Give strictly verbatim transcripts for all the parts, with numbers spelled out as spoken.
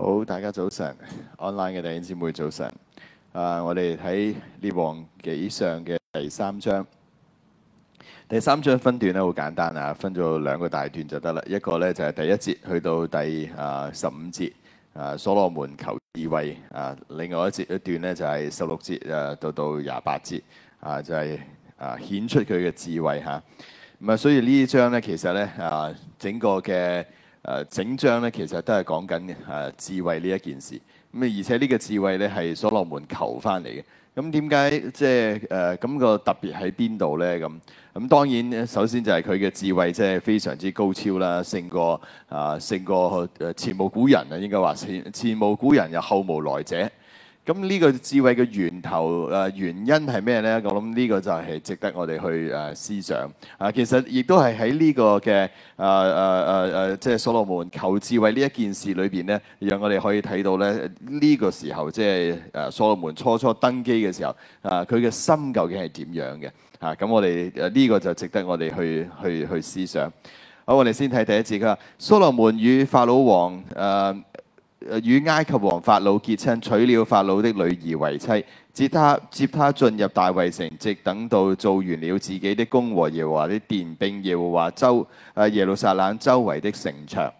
好，大家早晨，online 嘅弟兄姊妹早晨。啊，我哋睇列王紀上嘅第三章。第三章分段咧好簡單啊，分咗兩個大段就得啦。一個咧就係第一節去到第啊十五節，啊所羅門求智慧啊。另外一節一段咧就係十六節啊到到廿八節啊，就係啊顯出佢嘅智慧嚇。咁啊，所以呢一章咧其實咧啊整個嘅。誒、呃、整章咧，其實都係講緊誒智慧呢一件事。咁啊，而且呢個智慧咧係所羅門求翻嚟嘅。咁點解即係誒咁個特別喺邊度咧？咁咁當然首先就係佢嘅智慧即係非常之高超啦，勝過啊勝過誒前無古人啊，應該話前前無古人又後無來者。咁呢個智慧嘅源頭誒、呃、原因係咩呢？我諗呢個就係值得我哋去誒、呃、思想啊。其實亦都係喺呢個嘅誒誒誒誒，即係所羅門求智慧呢一件事裏邊呢，讓我哋可以睇到咧呢、呢個時候即係誒所羅門初初登基嘅時候啊，佢嘅心究竟係點樣嘅啊？咁我哋誒呢個就值得我哋去去去思想。好，我哋先睇第一節，佢話所羅門與法老王誒。呃與埃及王法老結親，娶了法老的女兒為妻，接他接他進入大衛城，直等到做完了自己的宮和耶和華的殿，並耶和華周誒耶路撒冷周圍的城牆。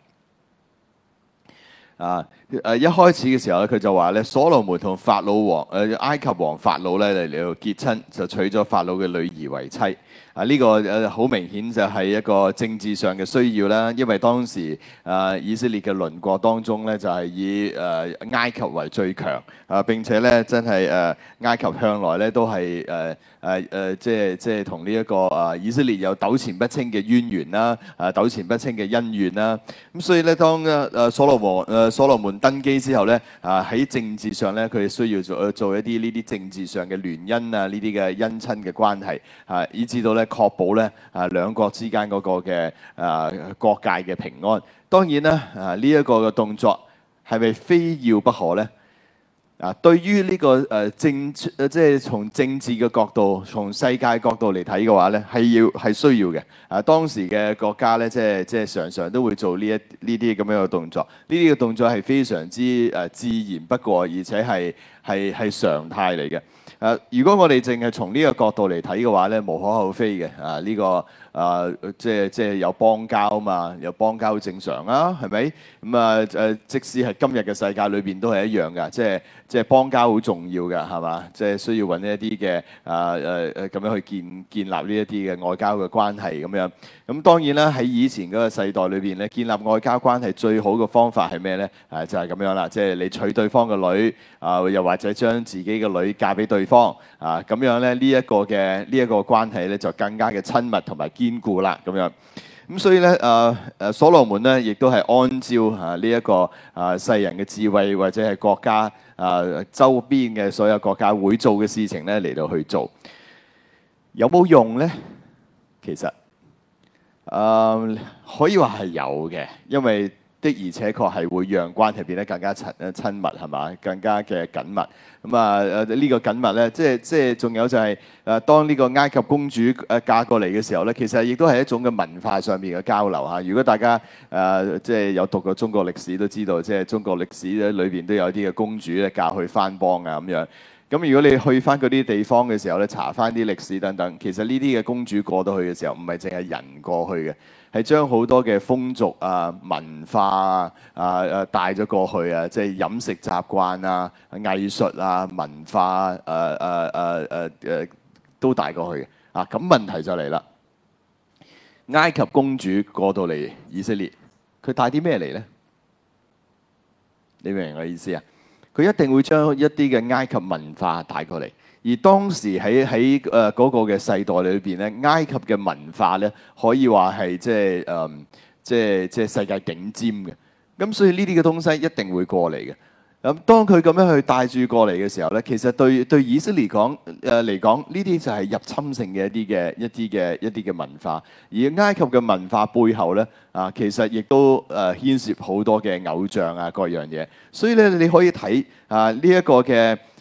啊誒一開始嘅時候咧，佢就話咧，所羅門同法老王誒埃及王法老咧嚟嚟到結親，就娶咗法老嘅女兒為妻。啊！呢、這個誒好、呃、明顯就係一個政治上嘅需要啦，因為當時誒、呃、以色列嘅鄰國當中咧，就係、是、以誒、呃、埃及為最強啊！並且咧，真係誒、呃、埃及向來咧都係誒誒誒，即係即係同呢一個啊、呃、以色列有糾纏不清嘅淵源啦，啊糾纏不清嘅恩怨啦。咁所以咧，當誒誒所羅王誒所羅門登基之後咧，啊喺政治上咧，佢需要做做一啲呢啲政治上嘅聯姻啊，呢啲嘅姻親嘅關係啊，以至到咧。確保咧啊兩國之間嗰個嘅啊國界嘅平安。當然啦啊呢一個嘅動作係咪非要不可咧？啊對於呢、這個誒、啊、政即係從政治嘅角度、從世界角度嚟睇嘅話咧，係要係需要嘅。啊當時嘅國家咧，即係即係常常都會做呢一呢啲咁樣嘅動作。呢啲嘅動作係非常之誒、啊、自然不過，而且係係係常態嚟嘅。誒、啊，如果我哋淨係從呢個角度嚟睇嘅話咧，無可厚非嘅。啊，呢、這個啊，即係即係有邦交啊嘛，有邦交正常啊，係咪？咁啊誒，即使係今日嘅世界裏邊都係一樣㗎，即係即係邦交好重要㗎，係嘛？即係需要揾一啲嘅啊誒誒咁樣去建建立呢一啲嘅外交嘅關係咁樣。咁當然啦，喺以前嗰個世代裏邊咧，建立外交關係最好嘅方法係咩咧？啊，就係、是、咁樣啦，即係你娶對方嘅女啊，又或者將自己嘅女嫁俾對方啊，咁樣咧呢一個嘅呢一個關係咧就更加嘅親密同埋堅固啦，咁樣。咁所以咧，誒誒所羅門咧，亦都係按照啊呢一個啊世人嘅智慧或者係國家啊周邊嘅所有國家會做嘅事情咧嚟到去做，有冇用咧？其實誒、呃、可以話係有嘅，因為的而且確係會讓關係變得更加親親密，係嘛？更加嘅緊密。咁啊誒呢個緊密咧，即係即係仲有就係、是、誒、啊、當呢個埃及公主誒嫁過嚟嘅時候咧，其實亦都係一種嘅文化上面嘅交流嚇。如果大家誒、啊、即係有讀過中國歷史都知道，即係中國歷史咧裏邊都有啲嘅公主咧嫁去番邦啊咁樣。咁如果你去翻嗰啲地方嘅時候咧，查翻啲歷史等等，其實呢啲嘅公主過到去嘅時候，唔係淨係人過去嘅，係將好多嘅風俗啊、文化啊、啊誒帶咗過去啊，即係飲食習慣啊、藝術啊、文化誒誒誒誒誒都帶過去嘅。啊，咁問題就嚟啦，埃及公主過到嚟以色列，佢帶啲咩嚟咧？你明唔明我意思啊？佢一定會將一啲嘅埃及文化帶過嚟，而當時喺喺誒嗰個嘅世代裏邊咧，埃及嘅文化咧可以話係即係誒即係即係世界頂尖嘅。咁所以呢啲嘅東西一定會過嚟嘅。咁當佢咁樣去帶住過嚟嘅時候咧，其實對對以色列講誒嚟講，呢啲就係入侵性嘅一啲嘅一啲嘅一啲嘅文化。而埃及嘅文化背後咧啊，其實亦都誒牽涉好多嘅偶像啊各樣嘢。所以咧，你可以睇啊呢一個嘅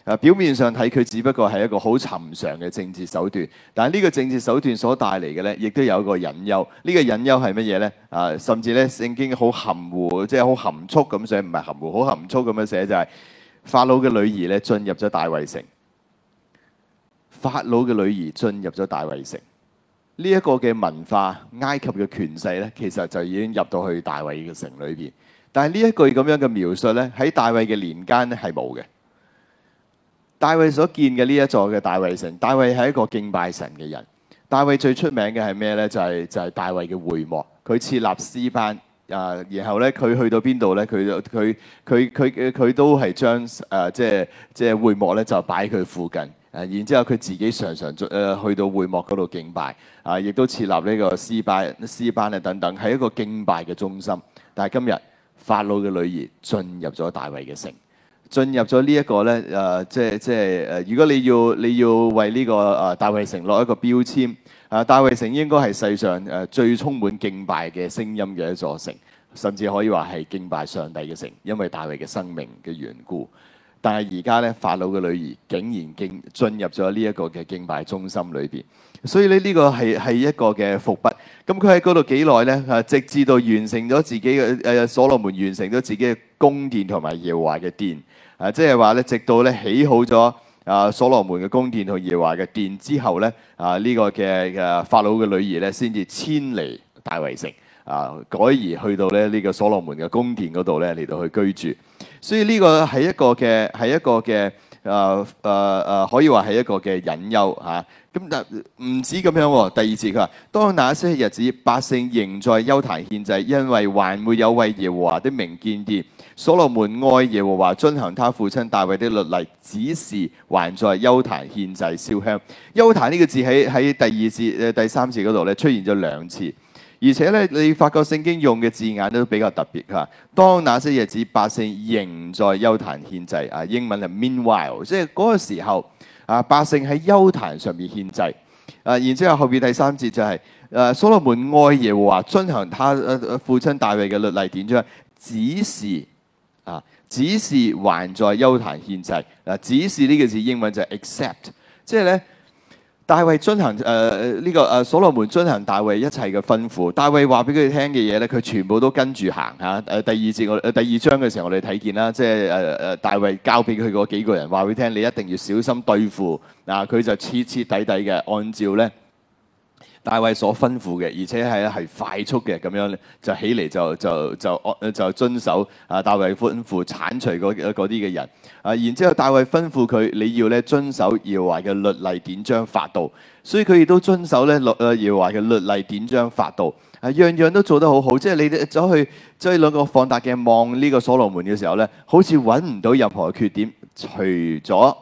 啊，表面上睇佢只不過係一個好尋常嘅政治手段，但係呢個政治手段所帶嚟嘅咧，亦都有一個隱憂。呢個隱憂係乜嘢咧？啊，甚至咧聖經好含糊，即係好含蓄咁寫，唔係含糊，好含蓄咁樣寫，就係法老嘅女兒咧進入咗大衛城。法老嘅女兒進入咗大衛城，呢一個嘅文化，埃及嘅權勢咧，其實就已經入到去大衛嘅城裏邊。但係呢一句咁樣嘅描述咧，喺大衛嘅年間咧係冇嘅。大衛所建嘅呢一座嘅大衛城，大衛係一個敬拜神嘅人。大衛最出名嘅係咩咧？就係、是、就係、是、大衛嘅會幕，佢設立詩班啊，然後咧佢去到邊度咧？佢佢佢佢佢都係將誒即係即係會幕咧就擺喺佢附近。誒，然之後佢自己常常誒去到會幕嗰度敬拜，啊，亦都設立呢個詩班、詩班啊等等，係一個敬拜嘅中心。但係今日法老嘅女兒進入咗大衛嘅城，進入咗呢一個咧誒，即係即係誒，如果你要你要為呢個誒大衛城落一個標籤，啊，大衛城應該係世上誒最充滿敬拜嘅聲音嘅一座城，甚至可以話係敬拜上帝嘅城，因為大衛嘅生命嘅緣故。但係而家咧，法老嘅女兒竟然敬進入咗呢一個嘅敬拜中心裏邊，所以咧呢個係係一個嘅伏筆。咁佢喺嗰度幾耐咧？啊，直至到完成咗自己嘅誒所羅門完成咗自己嘅宮殿同埋耶和華嘅殿。啊，即係話咧，直到咧起好咗啊所羅門嘅宮殿同耶和華嘅殿之後咧，啊呢個嘅嘅法老嘅女兒咧，先至遷離大衛城。啊，改而去到咧呢個所羅門嘅宮殿嗰度咧嚟到去居住，所以呢個係一個嘅係一個嘅誒誒誒，可以話係一個嘅隱憂嚇。咁、啊、但唔止咁樣喎。第二節佢話：當那些日子，百姓仍在邱壇獻祭，因為還沒有為耶和華的名建殿。所羅門愛耶和華，遵行他父親大衛的律例，只是還在邱壇獻祭燒香。邱壇呢個字喺喺第二節誒第三節嗰度咧出現咗兩次。而且咧，你發覺聖經用嘅字眼都比較特別嚇。當那些日子，百姓仍在邱壇獻祭啊，英文係 meanwhile，即係嗰個時候啊，百姓喺邱壇上面獻祭啊。然之後後邊第三節就係、是、誒、啊，所羅門愛耶和華，遵行他誒父親大衛嘅律例典章，只是啊，只是還在邱壇獻祭嗱。只是呢個字英文就係 except，即係咧。大衛遵行誒誒呢個誒、呃、所羅門遵行大衛一切嘅吩咐。大衛話俾佢聽嘅嘢咧，佢全部都跟住行嚇。誒、啊、第二節我誒、呃、第二章嘅時候，我哋睇見啦，即係誒誒大衛交俾佢嗰幾個人話俾佢聽，你一定要小心對付嗱。佢、啊、就徹徹底底嘅按照咧大衛所吩咐嘅，而且係係快速嘅咁樣就起嚟就就就按就遵守啊大衛吩咐剷除嗰啲嘅人。啊！然之後，大衛吩咐佢，你要咧遵守耶和華嘅律例典章法度，所以佢亦都遵守咧律啊耶和華嘅律例典章法度，啊樣樣都做得好好。即係你哋走去即係兩個放大鏡望呢個所羅門嘅時候咧，好似揾唔到任何缺點，除咗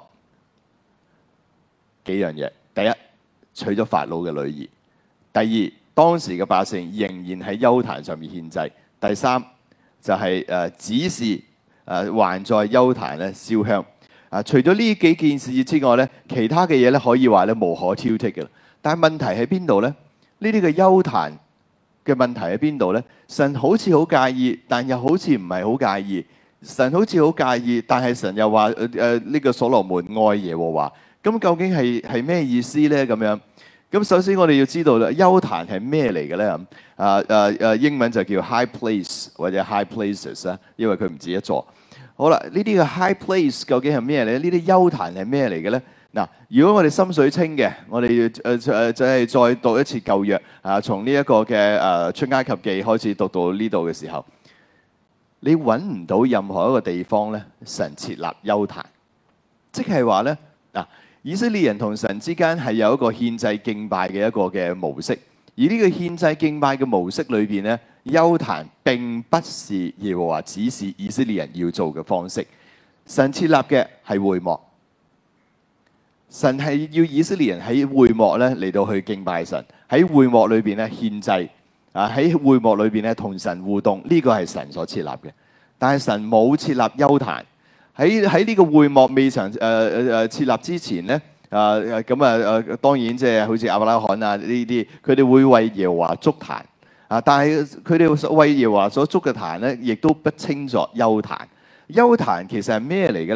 幾樣嘢。第一，娶咗法老嘅女兒；第二，當時嘅百姓仍然喺邱壇上面獻祭；第三，就係、是、誒、呃、指示。誒、啊、還在邱壇咧燒香啊！除咗呢幾件事之外咧，其他嘅嘢咧可以話咧無可挑剔嘅。但係問題喺邊度咧？呢啲嘅邱壇嘅問題喺邊度咧？神好似好介意，但又好似唔係好介意。神好似好介意，但係神又話誒誒呢個所羅門愛耶和華。咁究竟係係咩意思咧？咁樣咁首先我哋要知道啦，邱壇係咩嚟嘅咧？啊誒誒英文就叫 high place 或者 high places 啊，因為佢唔止一座。好啦，呢啲嘅 high place 究竟係咩咧？呢啲邱壇係咩嚟嘅咧？嗱，如果我哋心水清嘅，我哋誒誒就係再讀一次舊約啊，從呢一個嘅誒出埃及記開始讀到呢度嘅時候，你揾唔到任何一個地方咧，神設立邱壇，即係話咧嗱，以色列人同神之間係有一個獻祭敬拜嘅一個嘅模式，而呢個獻祭敬拜嘅模式裏邊咧。邱壇並不是耶和華指示以色列人要做嘅方式，神設立嘅係會幕，神係要以色列人喺會幕咧嚟到去敬拜神，喺會幕裏邊咧獻祭，啊喺會幕裏邊咧同神互動，呢個係神所設立嘅。但係神冇設立邱壇，喺喺呢個會幕未曾誒誒誒設立之前咧，啊咁啊誒當然即係好似亞伯拉罕啊呢啲，佢哋會為耶和華築壇。啊！但係佢哋為耶和華所築嘅壇咧，亦都不稱作邱壇。邱壇其實係咩嚟嘅咧？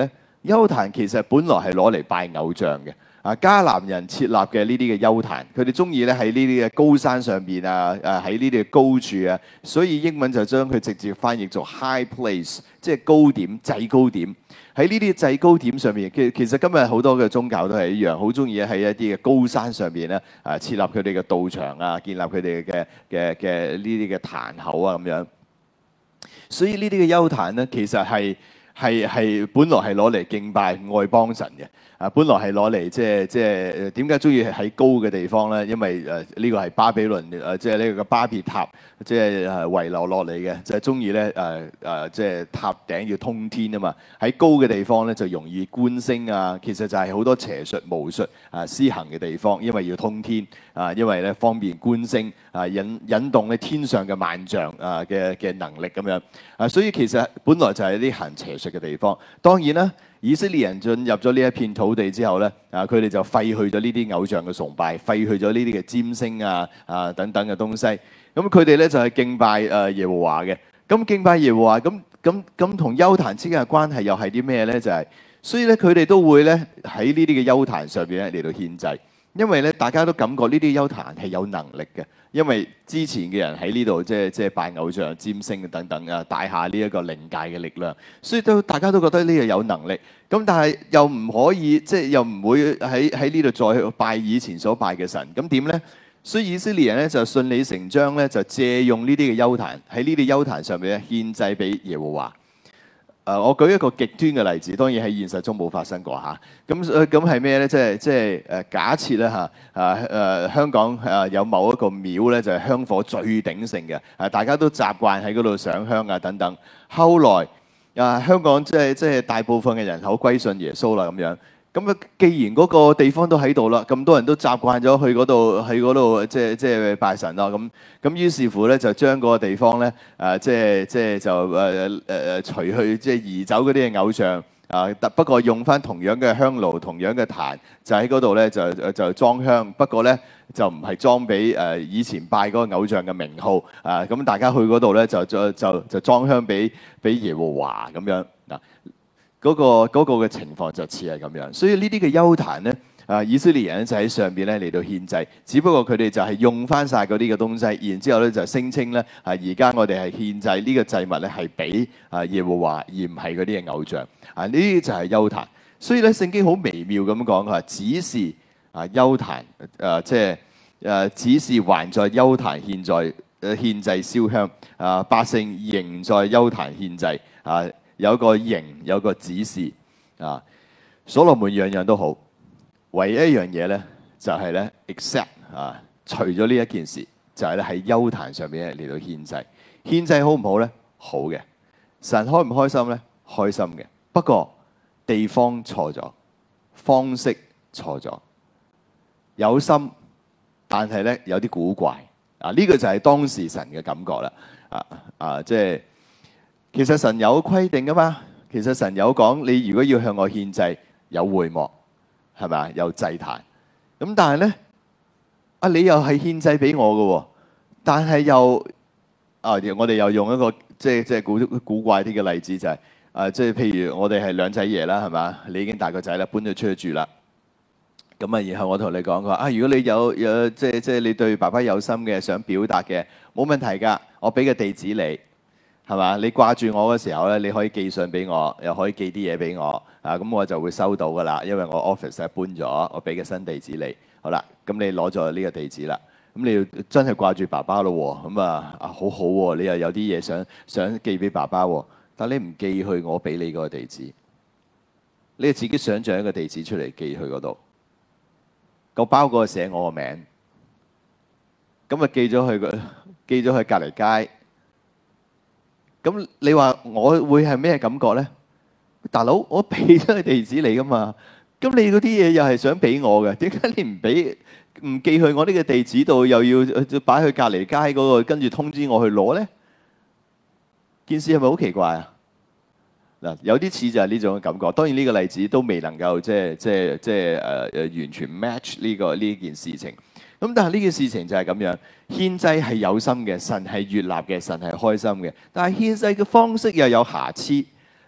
邱壇其實本來係攞嚟拜偶像嘅。啊，迦南人設立嘅呢啲嘅邱壇，佢哋中意咧喺呢啲嘅高山上邊啊，誒喺呢啲嘅高處啊，所以英文就將佢直接翻譯做 high place，即係高點、制高點。喺呢啲制高點上面，其其實今日好多嘅宗教都係一樣，好中意喺一啲嘅高山上邊咧，啊設立佢哋嘅道場啊，建立佢哋嘅嘅嘅呢啲嘅壇口啊咁樣。所以呢啲嘅邱壇咧，其實係係係本來係攞嚟敬拜外邦神嘅。啊，本來係攞嚟即係即係點解中意喺高嘅地方咧？因為誒呢、呃這個係巴比倫誒即係呢個巴別塔即係誒遺留落嚟嘅，就係中意咧誒誒即係塔頂要通天啊嘛。喺高嘅地方咧就容易觀星啊，其實就係好多邪術巫術啊施行嘅地方，因為要通天啊，因為咧方便觀星啊，引引動咧天上嘅萬象啊嘅嘅能力咁樣啊，所以其實本來就係啲行邪術嘅地方。當然啦。以色列人進入咗呢一片土地之後咧，啊，佢哋就廢去咗呢啲偶像嘅崇拜，廢去咗呢啲嘅占星啊、啊等等嘅東西。咁佢哋咧就係敬拜誒耶和華嘅。咁敬拜耶和華，咁咁咁同邱壇之間嘅關係又係啲咩咧？就係，所以咧佢哋都會咧喺呢啲嘅邱壇上邊咧嚟到獻祭，因為咧大家都感覺呢啲邱壇係有能力嘅。因為之前嘅人喺呢度即係即係拜偶像、占星等等啊，帶下呢一個靈界嘅力量，所以都大家都覺得呢個有能力。咁但係又唔可以即係又唔會喺喺呢度再去拜以前所拜嘅神。咁點咧？所以以色列人咧就順理成章咧就借用呢啲嘅邱壇喺呢啲邱壇上面咧獻祭俾耶和華。誒、呃，我舉一個極端嘅例子，當然喺現實中冇發生過嚇。咁誒咁係咩咧？即係即係誒假設咧嚇誒誒香港誒、啊、有某一個廟咧，就係、是、香火最鼎盛嘅，誒、啊、大家都習慣喺嗰度上香啊等等。後來啊，香港即係即係大部分嘅人口歸信耶穌啦咁樣。咁啊，既然嗰個地方都喺度啦，咁多人都習慣咗去嗰度，去嗰度即係即係拜神啦。咁咁於是乎咧，就將嗰個地方咧，誒即係即係就誒誒誒除去即係移走嗰啲嘅偶像啊。不過用翻同樣嘅香爐、同樣嘅壇，就喺嗰度咧就就裝香。不過咧就唔係裝俾誒以前拜嗰個偶像嘅名號啊。咁大家去嗰度咧就就就就裝香俾俾耶和華咁樣嗱。嗰、那個嗰、那個嘅情況就似係咁樣，所以呢啲嘅邱壇咧，啊以色列人就喺上邊咧嚟到獻祭，只不過佢哋就係用翻晒嗰啲嘅東西，然之後咧就聲稱咧啊而家我哋係獻祭呢個祭物咧係俾啊耶和華，而唔係嗰啲嘅偶像啊，呢啲就係邱壇。所以咧聖經好微妙咁講，佢話只是啊邱壇誒即係誒只是還在邱壇獻在誒獻祭燒香啊，百姓仍在邱壇獻祭啊。有個形，有個指示啊！所羅門樣樣都好，唯一一樣嘢咧就係咧，except 啊，除咗呢一件事，就係咧喺邱壇上面嚟到獻祭。獻祭好唔好咧？好嘅。神開唔開心咧？開心嘅。不過地方錯咗，方式錯咗，有心，但係咧有啲古怪啊！呢、這個就係當時神嘅感覺啦。啊啊，即係。其實神有規定噶嘛，其實神有講，你如果要向我獻祭，有會幕，係咪啊？有祭壇。咁但係咧，啊你又係獻祭俾我嘅，但係又啊，我哋又用一個即係即係古古怪啲嘅例子就係、是、啊，即係譬如我哋係兩仔爺啦，係嘛？你已經大個仔啦，搬咗出去住啦。咁啊，然後我同你講，佢話啊，如果你有有即係即係你對爸爸有心嘅，想表達嘅，冇問題㗎，我俾個地址你。係嘛？你掛住我嘅時候咧，你可以寄信俾我，又可以寄啲嘢俾我啊。咁我就會收到噶啦，因為我 office 咧搬咗，我俾個新地址你。好啦，咁你攞咗呢個地址啦。咁你要真係掛住爸爸咯喎。咁啊啊，好好喎，你又有啲嘢想想寄俾爸爸喎。但你唔寄去我俾你嗰個地址，你自己想像一個地址出嚟寄去嗰度。個包嗰個寫我個名，咁啊寄咗去個寄咗去隔離街。咁你話我會係咩感覺咧？大佬，我俾咗個地址你噶嘛？咁你嗰啲嘢又係想俾我嘅，點解你唔俾唔寄去我呢個地址度，又要擺去隔離街嗰個，跟住通知我去攞咧？件事係咪好奇怪啊？嗱，有啲似就係呢種嘅感覺。當然呢個例子都未能夠即係即係即係誒誒完全 match 呢個呢件事情。咁但係呢件事情就係咁樣，獻祭係有心嘅，神係悅納嘅，神係開心嘅。但係獻祭嘅方式又有瑕疵。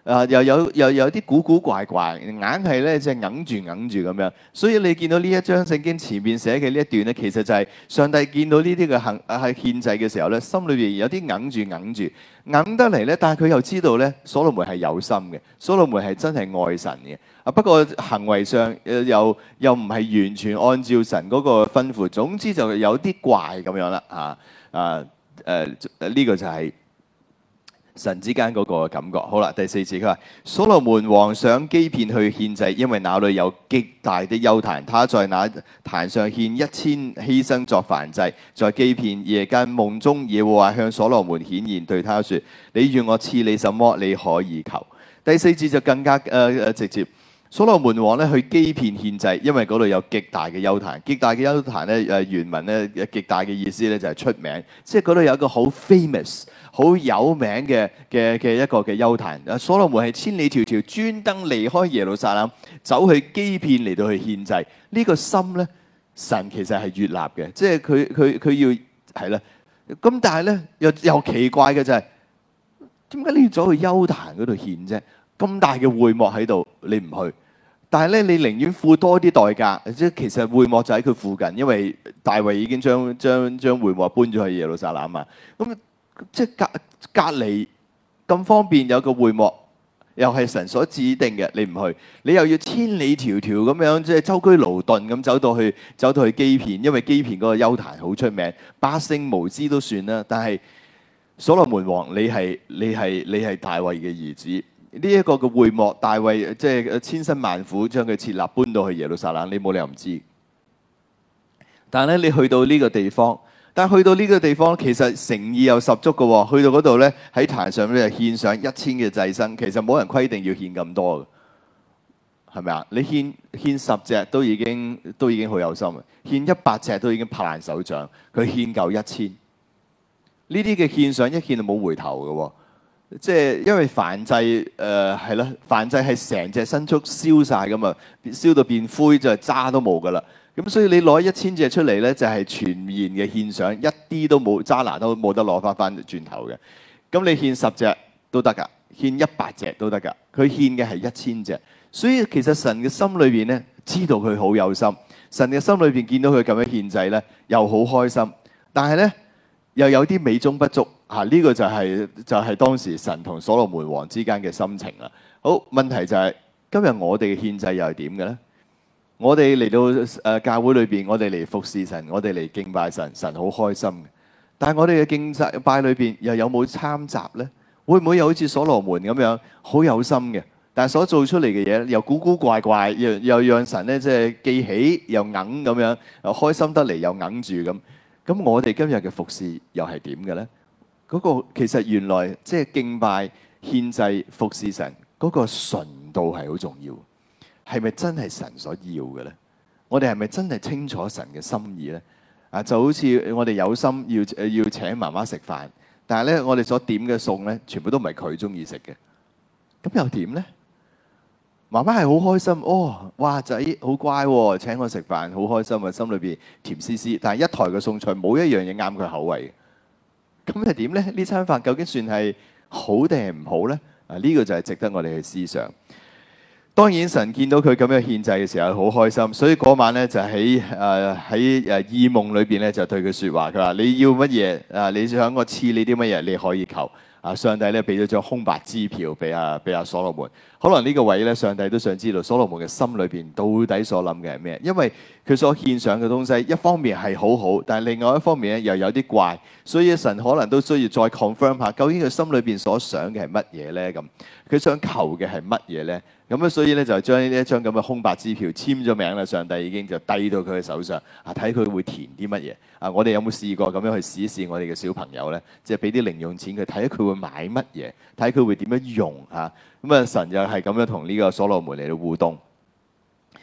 啊，又有又有啲古古怪怪，硬係咧即係硬住硬住咁樣。所以你見到呢一章聖經前面寫嘅呢一段咧，其實就係上帝見到呢啲嘅行係獻祭嘅時候咧，心裏邊有啲硬住硬住，硬得嚟咧，但係佢又知道咧，所羅門係有心嘅，所羅門係真係愛神嘅。啊，不過行為上誒又又唔係完全按照神嗰個吩咐，總之就有啲怪咁樣啦嚇啊誒誒呢個就係神之間嗰個感覺。好啦，第四節佢話：所羅門王上基遍去獻祭，因為那裏有極大的邱壇，他在那壇上獻一千犧牲作燔祭。在基遍夜間夢中，耶和華向所羅門顯現，對他說：你願我賜你什麼，你可以求。第四節就更加誒誒、呃、直接。所羅門王咧去基遍獻祭，因為嗰度有極大嘅邱壇。極大嘅邱壇咧誒原文咧極大嘅意思咧就係出名，即係嗰度有一個好 famous、好有名嘅嘅嘅一個嘅邱壇。所羅門係千里迢迢專登離開耶路撒冷，走去基遍嚟到去獻祭。呢、這個心咧，神其實係悅納嘅，即係佢佢佢要係啦。咁但係咧又又奇怪嘅就係點解你要走去邱壇嗰度獻啫？咁大嘅會幕喺度，你唔去，但係咧，你寧願付多啲代價，即係其實會幕就喺佢附近，因為大衛已經將將將會幕搬咗去耶路撒冷嘛。咁即係隔隔離咁方便有個會幕，又係神所指定嘅，你唔去，你又要千里迢迢咁樣即係舟車勞頓咁走到去走到去基遍，因為基遍嗰個邱壇好出名，百姓無知都算啦。但係所羅門王，你係你係你係大衛嘅兒子。呢一個嘅會幕，大衛即係千辛萬苦將佢設立搬到去耶路撒冷，你冇理由唔知。但係咧，你去到呢個地方，但係去到呢個地方，其實誠意又十足嘅喎。去到嗰度咧，喺壇上咧獻上一千嘅祭牲，其實冇人規定要獻咁多嘅，係咪啊？你獻獻十隻都已經都已經好有心嘅，獻一百隻都已經拍爛手掌，佢獻夠一千。呢啲嘅獻上一獻就冇回頭嘅喎。即係因為燔祭誒係啦，燔祭係成隻牲畜燒晒㗎嘛，燒到變灰就係渣都冇㗎啦。咁所以你攞一千隻出嚟咧，就係全然嘅獻上，一啲都冇渣拿都冇得攞翻翻轉頭嘅。咁你獻十隻都得㗎，獻一百隻都得㗎。佢獻嘅係一千隻，所以其實神嘅心裏邊咧知道佢好有心，神嘅心裏邊見到佢咁樣獻祭咧，又好開心，但係咧又有啲美中不足。啊！呢、這個就係、是、就係、是、當時神同所羅門王之間嘅心情啦。好，問題就係、是、今日我哋嘅獻祭又係點嘅咧？我哋嚟到誒、呃、教會裏邊，我哋嚟服侍神，我哋嚟敬拜神，神好開心嘅。但係我哋嘅敬拜裏邊又有冇參雜咧？會唔會又好似所羅門咁樣好有心嘅？但係所做出嚟嘅嘢又古古怪怪，又又讓神咧即係記起又硬咁樣，又開心得嚟又硬住咁。咁我哋今日嘅服侍又係點嘅咧？嗰個其實原來即係敬拜、獻祭、服侍神嗰個純度係好重要，係咪真係神所要嘅咧？我哋係咪真係清楚神嘅心意咧？啊，就好似我哋有心要誒要請媽媽食飯，但係咧我哋所點嘅餸咧，全部都唔係佢中意食嘅，咁又點咧？媽媽係好開心，哦，哇仔好乖喎，請我食飯好開心啊，心裏邊甜絲絲，但係一台嘅餸菜冇一樣嘢啱佢口味。咁係點咧？呢餐飯究竟算係好定係唔好咧？啊，呢個就係值得我哋去思想。當然，神見到佢咁樣獻祭嘅時候，好開心，所以嗰晚咧就喺誒喺誒異夢裏邊咧就對佢説話，佢話：你要乜嘢啊？你想我賜你啲乜嘢？你可以求。啊！上帝咧俾咗張空白支票俾阿俾阿所羅門，可能呢個位咧，上帝都想知道所羅門嘅心裏邊到底所諗嘅係咩？因為佢所獻上嘅東西，一方面係好好，但係另外一方面咧又有啲怪，所以神可能都需要再 confirm 下，究竟佢心裏邊所想嘅係乜嘢咧？咁佢想求嘅係乜嘢咧？咁啊，所以咧就將呢一張咁嘅空白支票簽咗名啦。上帝已經就遞到佢嘅手上，啊，睇佢會填啲乜嘢啊？我哋有冇試過咁樣去試一試我哋嘅小朋友咧？即係俾啲零用錢佢，睇下佢會買乜嘢，睇佢會點樣用嚇。咁啊，神就係咁樣同呢個所羅門嚟到互動。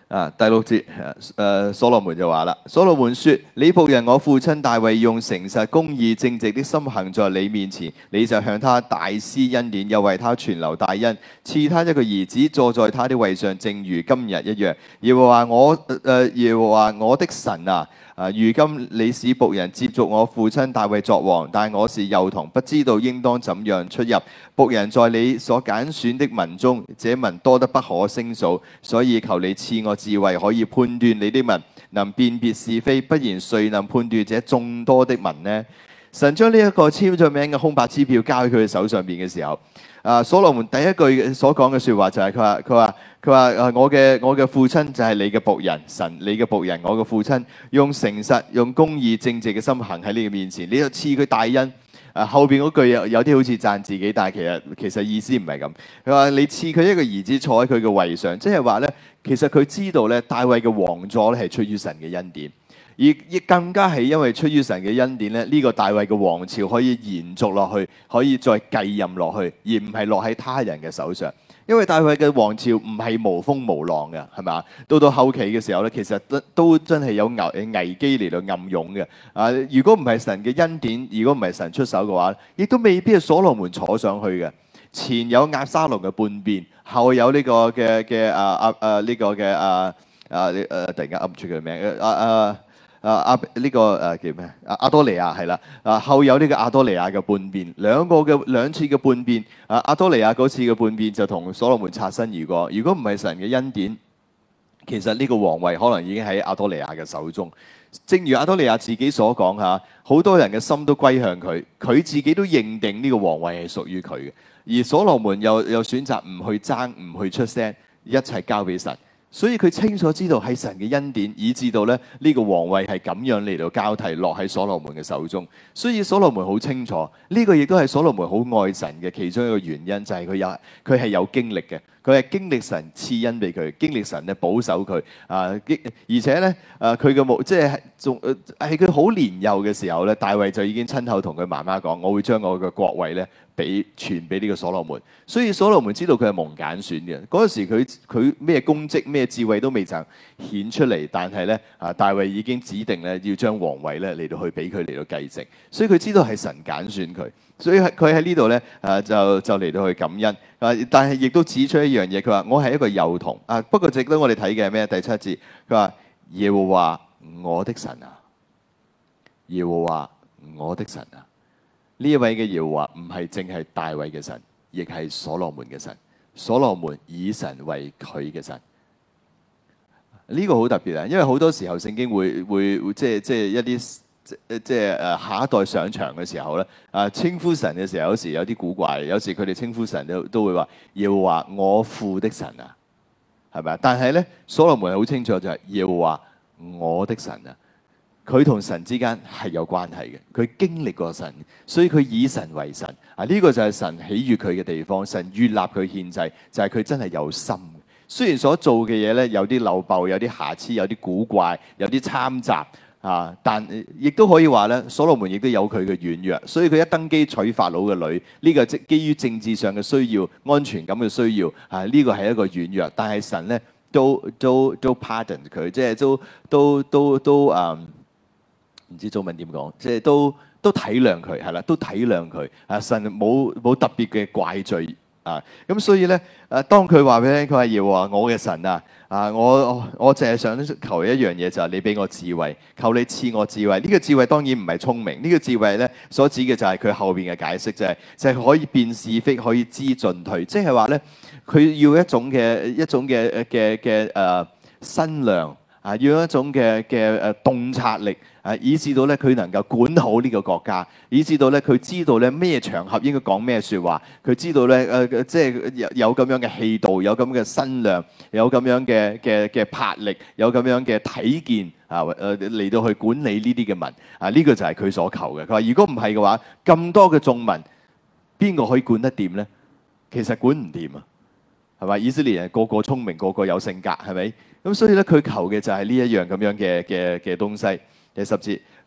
啊，第六節，誒、呃，所羅門就話啦，所羅門說：你僕人我父親大衛用誠實、公義、正直的心行在你面前，你就向他大施恩典，又為他存留大恩，賜他一個兒子坐在他的位上，正如今日一樣。耶和華我誒、呃、耶和華我的神啊！啊！如今你使僕人接續我父親大衛作王，但我是幼童，不知道應當怎樣出入。僕人在你所揀選的民中，這民多得不可勝數，所以求你賜我智慧，可以判斷你的民，能辨別是非。不然誰能判斷這眾多的民呢？神將呢一個簽咗名嘅空白支票交喺佢嘅手上邊嘅時候，啊，所羅門第一句所講嘅説話就係佢話佢話佢話誒我嘅我嘅父親就係你嘅僕人，神你嘅僕人，我嘅父親用誠實、用公義、正直嘅心行喺你嘅面前，你就賜佢大恩。啊，後邊嗰句有有啲好似讚自己，但係其實其實意思唔係咁。佢話你賜佢一個兒子坐喺佢嘅位上，即係話咧，其實佢知道咧，大衛嘅王座咧係出於神嘅恩典。而亦更加係因為出於神嘅恩典咧，呢個大衛嘅王朝可以延續落去，可以再繼任落去，而唔係落喺他人嘅手上。因為大衛嘅王朝唔係無風無浪嘅，係咪？到到後期嘅時候咧，其實都都真係有危危機嚟到暗湧嘅。啊，如果唔係神嘅恩典，如果唔係神出手嘅話，亦都未必係所羅門坐上去嘅。前有押沙龍嘅叛變，後有呢個嘅嘅啊啊啊呢個嘅啊啊誒突然間噏唔出佢名啊啊。啊阿呢、這個誒、啊、叫咩？阿阿多尼亞係啦，啊後有呢個阿多尼亞嘅叛變，兩個嘅兩次嘅叛變，啊阿多尼亞嗰次嘅叛變就同所羅門擦身而過。如果唔係神嘅恩典，其實呢個皇位可能已經喺阿多尼亞嘅手中。正如阿多尼亞自己所講嚇，好多人嘅心都歸向佢，佢自己都認定呢個皇位係屬於佢嘅。而所羅門又又選擇唔去爭，唔去出聲，一切交俾神。所以佢清楚知道係神嘅恩典，以致到咧呢個皇位係咁樣嚟到交替落喺所羅門嘅手中。所以所羅門好清楚，呢個亦都係所羅門好愛神嘅其中一個原因，就係佢有佢係有經歷嘅，佢係經歷神賜恩俾佢，經歷神咧保守佢啊，而且咧誒佢嘅目即係仲係佢好年幼嘅時候咧，大衛就已經親口同佢媽媽講：我會將我嘅國位咧俾傳俾呢個所羅門。所以所羅門知道佢係蒙揀選嘅。嗰陣時佢佢咩功績咩智慧都未曾顯出嚟，但係咧啊大衛已經指定咧要將皇位咧嚟到去俾佢嚟到繼承。所以佢知道係神揀選佢，所以佢喺呢度咧啊就就嚟到去感恩啊，但係亦都指出一樣嘢，佢話我係一個幼童啊。不過值得我哋睇嘅係咩？第七節佢話耶和華我的神啊，耶和華我的神啊。呢一位嘅耶和華唔係淨係大衛嘅神，亦係所羅門嘅神。所羅門以神為佢嘅神，呢、這個好特別啊！因為好多時候聖經會會即係即係一啲即係誒下一代上場嘅時候咧，啊稱呼神嘅時候有時有啲古怪，有時佢哋稱呼神都都會話耶和華我父的神啊，係咪啊？但係咧，所羅門好清楚就係耶和華我的神啊。佢同神之間係有關係嘅，佢經歷過神，所以佢以神為神啊！呢個就係神喜悅佢嘅地方，神悅納佢獻祭，就係佢真係有心。雖然所做嘅嘢咧有啲漏爆，有啲瑕疵，有啲古怪，有啲參雜啊，但亦都可以話咧，所羅門亦都有佢嘅軟弱，所以佢一登基娶法老嘅女，呢個即基於政治上嘅需要、安全感嘅需要啊，呢個係一個軟弱，但係神咧都都都 pardon 佢，即係都都都都啊。唔知中文點講，即係都都體諒佢，係啦，都體諒佢。啊，神冇冇特別嘅怪罪啊，咁所以咧，誒，當佢話俾你聽，佢話耶和華我嘅神啊，啊，我我淨係想求一樣嘢，就係你俾我智慧，求你賜我智慧。呢個智慧當然唔係聰明，呢個智慧咧所指嘅就係佢後邊嘅解釋，就係就係可以辨是非，可以知進退，即係話咧，佢要一種嘅一種嘅嘅嘅誒身量啊，要一種嘅嘅誒洞察力。啊！以至到咧，佢能夠管好呢個國家；以至到咧，佢知道咧咩場合應該講咩説話；佢知道咧，誒、呃、即係有有咁樣嘅氣度，有咁嘅身量，有咁樣嘅嘅嘅魄力，有咁樣嘅體見啊！誒、呃、嚟到去管理呢啲嘅民啊！呢、這個就係佢所求嘅。佢話：如果唔係嘅話，咁多嘅眾民，邊個可以管得掂咧？其實管唔掂啊，係咪？以色列人個個聰明，個個有性格，係咪？咁所以咧，佢求嘅就係呢一樣咁樣嘅嘅嘅東西。第十節，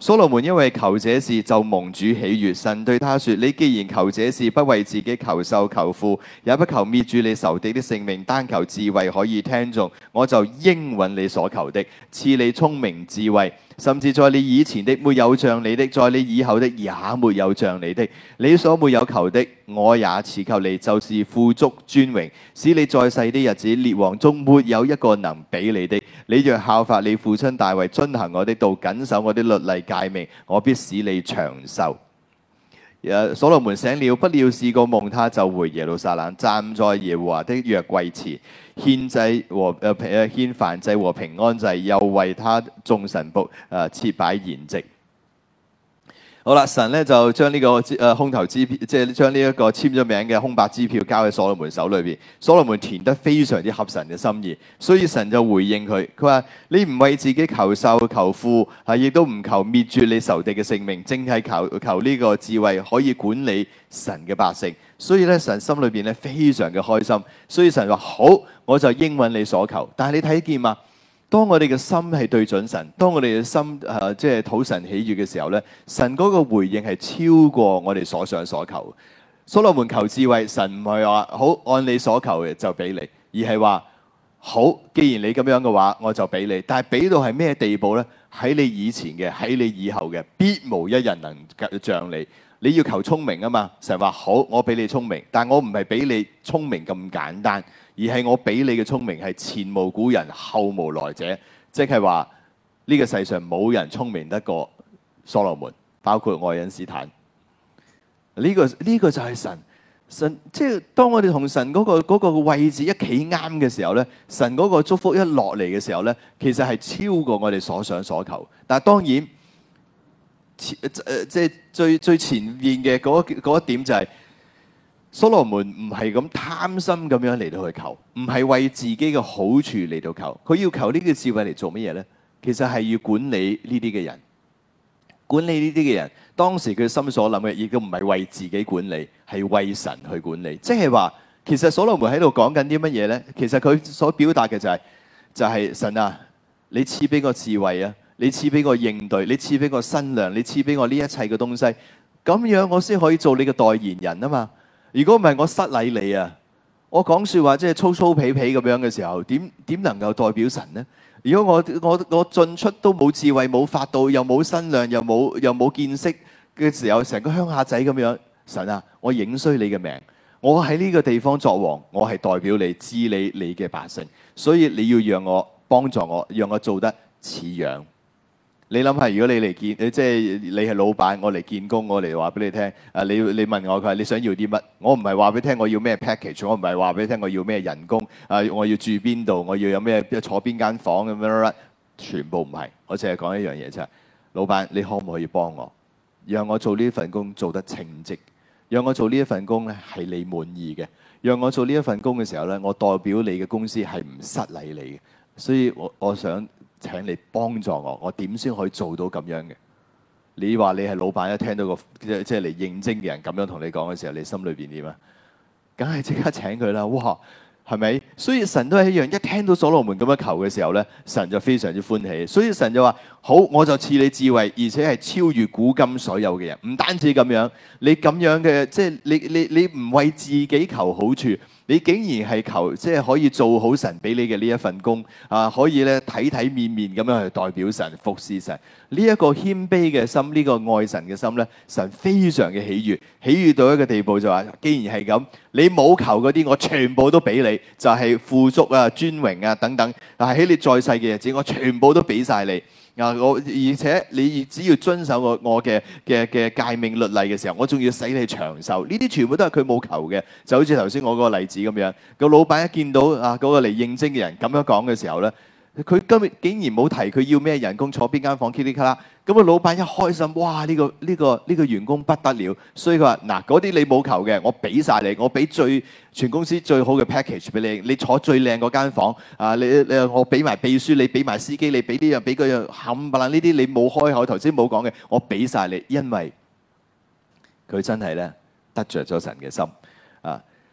所羅門因為求這事就蒙主喜悅，神對他說：你既然求這事，不為自己求壽求富，也不求滅絕你仇敵的性命，單求智慧可以聽從，我就應允你所求的，賜你聰明智慧。甚至在你以前的沒有像你的，在你以後的也沒有像你的。你所沒有求的，我也賜給你，就是富足尊榮，使你在世的日子，列王中沒有一個能比你的。你若效法你父親大衛，遵行我的道，謹守我的律例誡命，我必使你長壽。所羅門醒了，不料是個夢，他就回耶路撒冷，站在耶和華的約櫃前，獻祭和誒誒獻燔祭和平安祭，又為他眾臣僕誒設擺筵席。好啦，神咧就將呢個誒空頭支票，即係將呢一個簽咗名嘅空白支票交喺所羅門手裏邊。所羅門填得非常之合神嘅心意，所以神就回應佢，佢話：你唔為自己求壽求富，係亦都唔求滅絕你仇敵嘅性命，淨係求求呢個智慧可以管理神嘅百姓。所以咧，神心裏邊咧非常嘅開心。所以神話好，我就應允你所求。但係你睇見嘛？當我哋嘅心係對準神，當我哋嘅心誒、呃、即係討神喜悅嘅時候咧，神嗰個回應係超過我哋所想所求。所羅門求智慧，神唔係話好按你所求嘅就俾你，而係話好，既然你咁樣嘅話，我就俾你。但係俾到係咩地步咧？喺你以前嘅，喺你以後嘅，必無一人能像你。你要求聰明啊嘛，神話好，我俾你聰明，但我唔係俾你聰明咁簡單。而係我俾你嘅聰明係前無古人後無來者，即係話呢個世上冇人聰明得過所羅門，包括愛因斯坦。呢、這個呢、這個就係神，神即係當我哋同神嗰、那個嗰、那個位置一企啱嘅時候咧，神嗰個祝福一落嚟嘅時候咧，其實係超過我哋所想所求。但係當然，誒、呃、即係最最前面嘅嗰嗰一點就係、是。所羅門唔係咁貪心咁樣嚟到去求，唔係為自己嘅好處嚟到求，佢要求呢個智慧嚟做乜嘢呢？其實係要管理呢啲嘅人，管理呢啲嘅人。當時佢心所諗嘅，亦都唔係為自己管理，係為神去管理。即係話，其實所羅門喺度講緊啲乜嘢呢？其實佢所表達嘅就係、是，就係、是、神啊，你賜俾個智慧啊，你賜俾個應對，你賜俾個身量，你賜俾我呢一切嘅東西，咁樣我先可以做你嘅代言人啊嘛。如果唔係我失禮你啊，我講説話即係粗粗鄙鄙咁樣嘅時候，點點能夠代表神呢？如果我我我進出都冇智慧、冇法度、又冇身量、又冇又冇見識嘅時候，成個鄉下仔咁樣，神啊，我影衰你嘅名，我喺呢個地方作王，我係代表你治理你嘅百姓，所以你要讓我幫助我，讓我做得似樣。你諗下，如果你嚟見，你即係你係老闆，我嚟見工，我嚟話俾你聽。啊，你你問我佢話你想要啲乜？我唔係話俾你聽我要咩 package，我唔係話俾你聽我要咩人工。啊，我要住邊度？我要有咩坐邊間房咁樣，全部唔係。我淨係講一樣嘢啫。老闆，你可唔可以幫我，讓我做呢份工做得稱職，讓我做呢一份工咧係你滿意嘅，讓我做呢一份工嘅時候咧，我代表你嘅公司係唔失禮你嘅。所以我我想。請你幫助我，我點先可以做到咁樣嘅？你話你係老闆，一聽到個即係即係嚟應徵嘅人咁樣同你講嘅時候，你心裏邊點啊？梗係即刻請佢啦！哇，係咪？所以神都係一樣，一聽到所羅門咁樣求嘅時候咧，神就非常之歡喜。所以神就話：好，我就賜你智慧，而且係超越古今所有嘅人。唔單止咁樣，你咁樣嘅即係你你你唔為自己求好處。你竟然係求即係可以做好神俾你嘅呢一份工啊，可以咧體體面面咁樣去代表神服侍神。呢一個謙卑嘅心，呢個愛神嘅心咧，神非常嘅喜悅，喜悅到一個地步就話：既然係咁，你冇求嗰啲，我全部都俾你，就係富足啊、尊榮啊等等。但係喺你在世嘅日子，我全部都俾晒你。啊！我而且你只要遵守我我嘅嘅嘅誡命律例嘅時候，我仲要使你長壽。呢啲全部都係佢冇求嘅，就好似頭先我嗰個例子咁樣。個老闆一見到啊嗰個嚟應徵嘅人咁樣講嘅時候咧，佢今日竟然冇提佢要咩人工，坐邊間房，噼里咔啦。咁個老闆一開心，哇！呢個呢個呢個員工不得了，所以佢話：嗱，嗰啲你冇求嘅，我俾晒你，我俾最全公司最好嘅 package 俾你，你坐最靚嗰間房啊！你你我俾埋秘書，你俾埋司機，你俾呢樣俾嗰樣，冚唪唥呢啲你冇開口頭先冇講嘅，我俾晒你，因為佢真係咧得著咗神嘅心啊！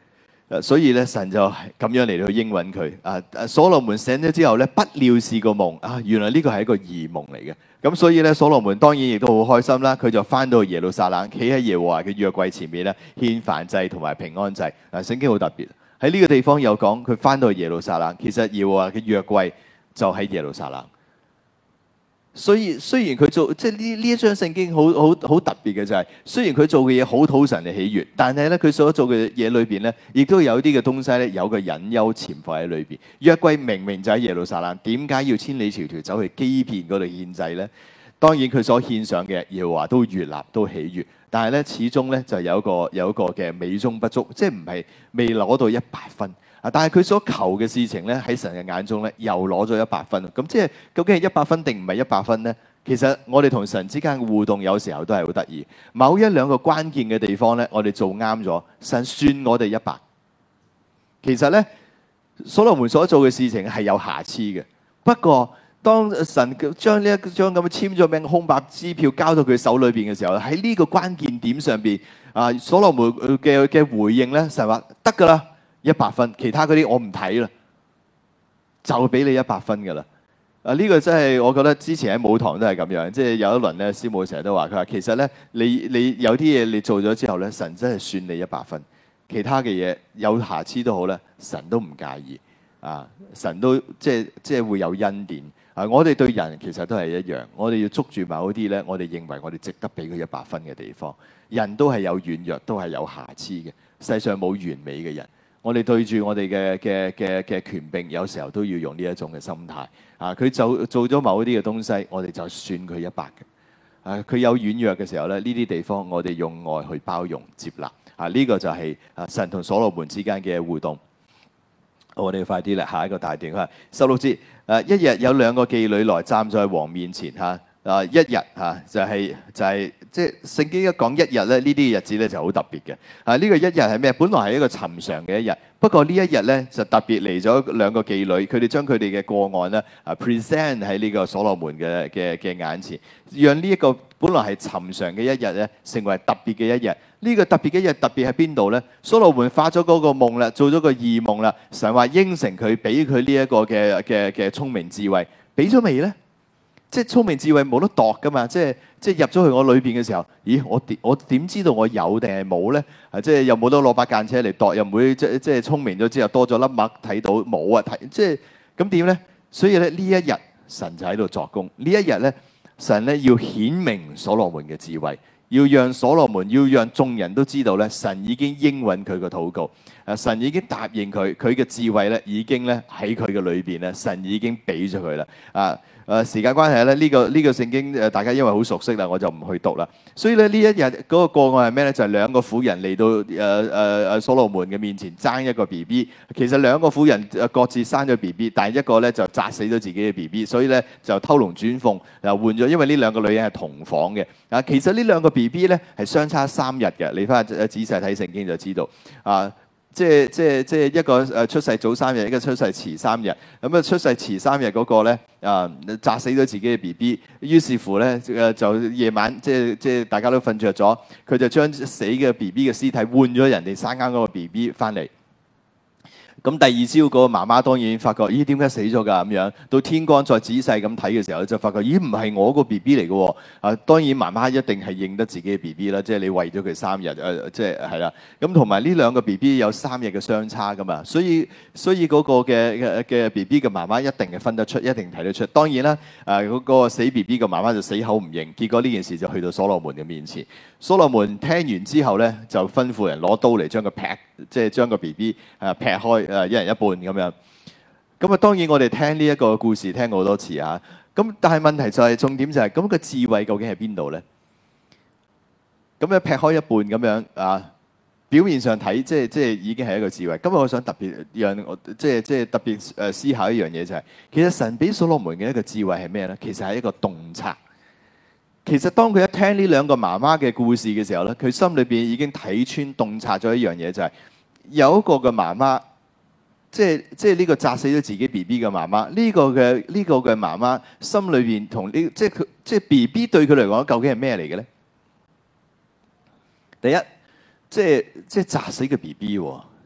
誒所以咧，神就咁樣嚟到應允佢。啊啊，所羅門醒咗之後咧，不料是個夢啊，原來呢個係一個異夢嚟嘅。咁所以咧，所羅門當然亦都好開心啦。佢就翻到耶路撒冷，企喺耶和華嘅約櫃前面咧，獻燔祭同埋平安祭。嗱，聖經好特別，喺呢個地方有講佢翻到耶路撒冷，其實耶和華嘅約櫃就喺耶路撒冷。所以雖然佢做即係呢呢一章聖經好好好特別嘅就係，雖然佢做嘅嘢好討神嘅喜悅，但係咧佢所做嘅嘢裏邊咧，亦都有啲嘅東西咧有個隱憂潛伏喺裏邊。約櫃明明就喺耶路撒冷，點解要千里迢迢走去基遍嗰度獻祭咧？當然佢所獻上嘅耶和華都悅納都喜悅，但係咧始終咧就有一個有一個嘅美中不足，即係唔係未攞到一百分。啊！但係佢所求嘅事情咧，喺神嘅眼中咧，又攞咗一百分。咁即係究竟係一百分定唔係一百分咧？其實我哋同神之間嘅互動有時候都係好得意。某一兩個關鍵嘅地方咧，我哋做啱咗，神算我哋一百。其實咧，所羅門所做嘅事情係有瑕疵嘅。不過當神將呢一張咁嘅簽咗名空白支票交到佢手裏邊嘅時候，喺呢個關鍵點上邊，啊，所羅門嘅嘅回應咧，神話得㗎啦。一百分，其他嗰啲我唔睇啦，就俾你一百分噶啦。啊，呢、這個真係我覺得之前喺舞堂都係咁樣，即係有一輪咧，師母成日都話佢話，其實咧你你有啲嘢你做咗之後咧，神真係算你一百分，其他嘅嘢有瑕疵都好咧，神都唔介意啊，神都即係即係會有恩典啊。我哋對人其實都係一樣，我哋要捉住某啲咧，我哋認為我哋值得俾佢一百分嘅地方。人都係有軟弱，都係有瑕疵嘅，世上冇完美嘅人。我哋對住我哋嘅嘅嘅嘅權柄，有時候都要用呢一種嘅心態。啊，佢就做咗某啲嘅東西，我哋就算佢一百嘅。啊，佢有軟弱嘅時候咧，呢啲地方我哋用愛去包容接納。啊，呢、這個就係啊神同所羅門之間嘅互動。我哋快啲啦，下一個大段啊，十六節。誒，一日有兩個妓女來站在王面前嚇。啊，一日嚇就係就係即係聖經一講一日咧，呢啲嘅日子咧就好特別嘅。啊，呢個一日係咩？本來係一個尋常嘅一日，不過呢一日咧就特別嚟咗兩個妓女，佢哋將佢哋嘅個案咧啊 present 喺呢個所羅門嘅嘅嘅眼前，讓呢一個本來係尋常嘅一日咧，成為特別嘅一日。呢個特別嘅一日特別喺邊度咧？所羅門發咗嗰個夢啦，做咗個異夢啦，神話應承佢，俾佢呢一個嘅嘅嘅聰明智慧，俾咗未咧？即係聰明智慧冇得度噶嘛，即係即係入咗去我裏邊嘅時候，咦？我點我點知道我有定係冇咧？啊，即係又冇得攞把間尺嚟度，又唔會即即係聰明咗之後多咗粒墨睇到冇啊？睇即係咁點咧？所以咧呢一日神就喺度作工，呢一日咧神咧要顯明所羅門嘅智慧，要讓所羅門要讓眾人都知道咧，神已經應允佢個禱告，啊，神已經答應佢，佢嘅智慧咧已經咧喺佢嘅裏邊咧，神已經俾咗佢啦，啊。誒時間關係咧，呢、這個呢、這個聖經誒大家因為好熟悉啦，我就唔去讀啦。所以咧呢一日嗰個個案係咩咧？就係、是、兩個婦人嚟到誒誒誒所羅門嘅面前爭一個 B B。其實兩個婦人誒各自生咗 B B，但係一個咧就砸死咗自己嘅 B B，所以咧就偷龍轉鳳又換咗。因為呢兩個女人係同房嘅啊。其實呢兩個 B B 咧係相差三日嘅，你翻去仔細睇聖經就知道啊。即係即係即係一個誒出世早三日，一個出世遲三日。咁啊出世遲三日嗰個咧啊，砸死咗自己嘅 B B。於是乎咧誒就夜晚即係即係大家都瞓着咗，佢就將死嘅 B B 嘅屍體換咗人哋生啱嗰個 B B 翻嚟。咁第二朝嗰個媽媽當然發覺，咦點解死咗㗎咁樣？到天光再仔細咁睇嘅時候，就發覺，咦唔係我個 B B 嚟嘅喎。啊，當然媽媽一定係認得自己嘅 B B 啦，即係你餵咗佢三日，誒、呃、即係係啦。咁同埋呢兩個 B B 有三日嘅相差㗎嘛，所以所以嗰個嘅嘅嘅 B B 嘅媽媽一定係分得出，一定睇得出。當然啦，啊嗰、那個死 B B 嘅媽媽就死口唔認，結果呢件事就去到所羅門嘅面前。所羅門聽完之後咧，就吩咐人攞刀嚟將佢劈，即係將個 B B 誒劈開。誒一人一半咁樣，咁啊當然我哋聽呢一個故事聽過好多次啊，咁但係問題就係、是、重點就係、是，咁、那個智慧究竟喺邊度咧？咁樣劈開一半咁樣啊，表面上睇即係即係已經係一個智慧。今日我想特別讓我即係即係特別誒思考一樣嘢就係、是，其實神俾所羅門嘅一個智慧係咩咧？其實係一個洞察。其實當佢一聽呢兩個媽媽嘅故事嘅時候咧，佢心裏邊已經睇穿洞察咗一樣嘢，就係、是、有一個嘅媽媽。即係即係呢個砸死咗自己 B B 嘅媽媽，呢個嘅呢個嘅媽媽心裏邊同呢即係佢即係 B B 對佢嚟講究竟係咩嚟嘅咧？第一，即係即係砸死嘅 B B 喎，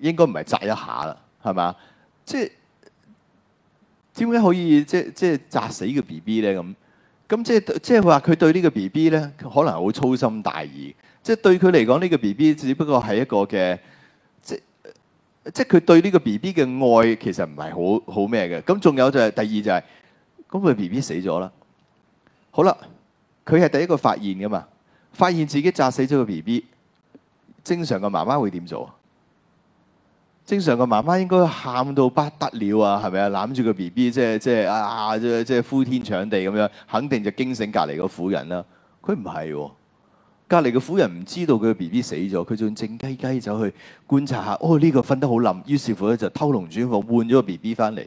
應該唔係扎一下啦，係嘛？即係點解可以即即係扎死個 B B 咧？咁咁即係即係話佢對呢個 B B 咧，可能好粗心大意。即係對佢嚟講，呢個 B B 只不過係一個嘅，即即係佢對呢個 B B 嘅愛其實唔係好好咩嘅。咁仲有就係第二就係，咁佢 B B 死咗啦。好啦，佢係第一個發現噶嘛，發現自己扎死咗個 B B。正常嘅媽媽會點做啊？正常嘅媽媽應該喊到不得了啊，係咪啊？攬住個 B B，即係即係啊，即係即係呼天搶地咁樣，肯定就驚醒隔離個婦人啦。佢唔係喎，隔離個婦人唔知道佢個 B B 死咗，佢仲靜雞雞走去觀察下，哦呢個瞓得好冧，於是乎咧就偷龍轉鳳換咗個 B B 翻嚟。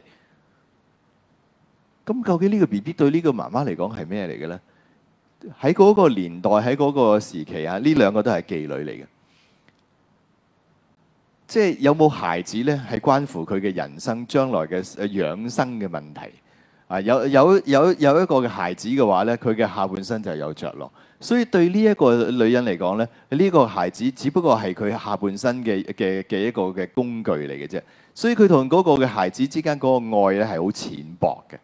咁究竟呢個 B B 對呢個媽媽嚟講係咩嚟嘅咧？喺嗰個年代，喺嗰個時期啊，呢兩個都係妓女嚟嘅。即係有冇孩子咧，係關乎佢嘅人生將來嘅養生嘅問題啊！有有有有一個嘅孩子嘅話咧，佢嘅下半身就係有着落。所以對呢一個女人嚟講咧，呢個孩子只不過係佢下半身嘅嘅嘅一個嘅工具嚟嘅啫。所以佢同嗰個嘅孩子之間嗰個愛咧係好淺薄嘅。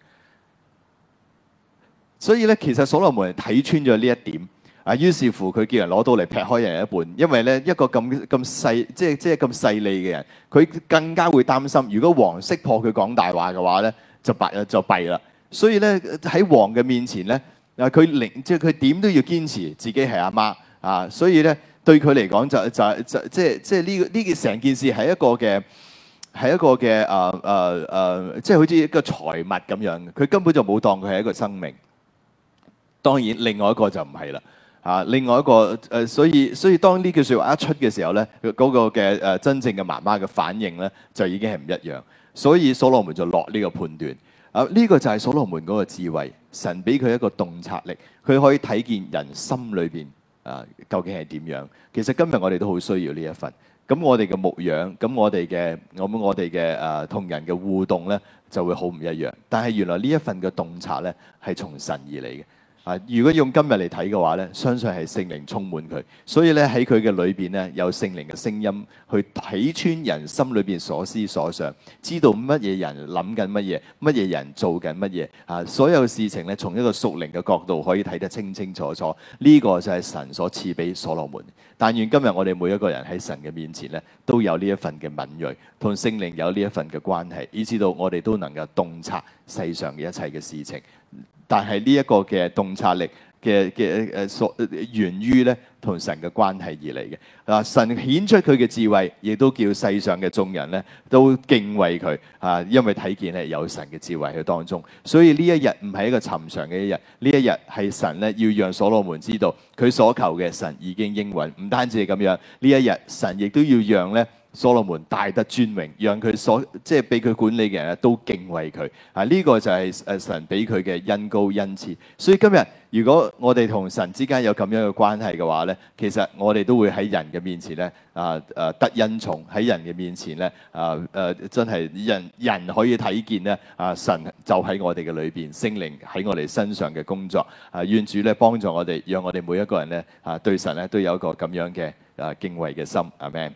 所以咧，其實所羅門睇穿咗呢一點。啊，於是乎佢叫人攞刀嚟劈開人一半，因為咧一個咁咁細，即係即係咁勢利嘅人，佢更加會擔心，如果王識破佢講大話嘅話咧，就弊就弊啦。所以咧喺王嘅面前咧，啊佢寧即係佢點都要堅持自己係阿媽啊，所以咧對佢嚟講就就就即係即係呢個呢件成件事係一個嘅係一個嘅誒誒誒，即係好似一個財物咁樣，佢根本就冇當佢係一個生命。當然，另外一個就唔係啦。啊，另外一個誒、呃，所以所以當呢句説話一出嘅時候咧，嗰、那個嘅誒、呃、真正嘅媽媽嘅反應咧，就已經係唔一樣。所以所羅門就落呢個判斷。啊，呢、這個就係所羅門嗰個智慧，神俾佢一個洞察力，佢可以睇見人心裏邊啊究竟係點樣。其實今日我哋都好需要呢一份。咁我哋嘅牧養，咁我哋嘅咁我哋嘅誒同人嘅互動咧，就會好唔一樣。但係原來呢一份嘅洞察咧，係從神而嚟嘅。啊！如果用今日嚟睇嘅話咧，相信係聖靈充滿佢，所以咧喺佢嘅裏邊咧有聖靈嘅聲音去睇穿人心裏邊所思所想，知道乜嘢人諗緊乜嘢，乜嘢人做緊乜嘢啊！所有事情咧從一個屬靈嘅角度可以睇得清清楚楚，呢、這個就係神所賜俾所羅門。但願今日我哋每一個人喺神嘅面前咧都有呢一份嘅敏鋭，同聖靈有呢一份嘅關係，以至到我哋都能夠洞察世上嘅一切嘅事情。但係呢一個嘅洞察力嘅嘅誒所源於咧同神嘅關係而嚟嘅。啊，神顯出佢嘅智慧，亦都叫世上嘅眾人咧都敬畏佢啊，因為睇見咧有神嘅智慧喺當中。所以呢一日唔係一個尋常嘅一日，呢一日係神咧要讓所羅門知道佢所求嘅神已經應允。唔單止係咁樣，呢一日神亦都要讓咧所羅門大得尊榮，讓佢所即係俾佢管理嘅人都敬畏佢啊！呢、這個就係誒神俾佢嘅恩膏恩賜。所以今日如果我哋同神之間有咁樣嘅關係嘅話咧，其實我哋都會喺人嘅面前咧啊誒得恩寵，喺人嘅面前咧啊誒真係人人可以睇見咧啊神就喺我哋嘅裏邊，聖靈喺我哋身上嘅工作啊，願主咧幫助我哋，讓我哋每一個人咧啊對神咧都有一個咁樣嘅啊敬畏嘅心。阿們。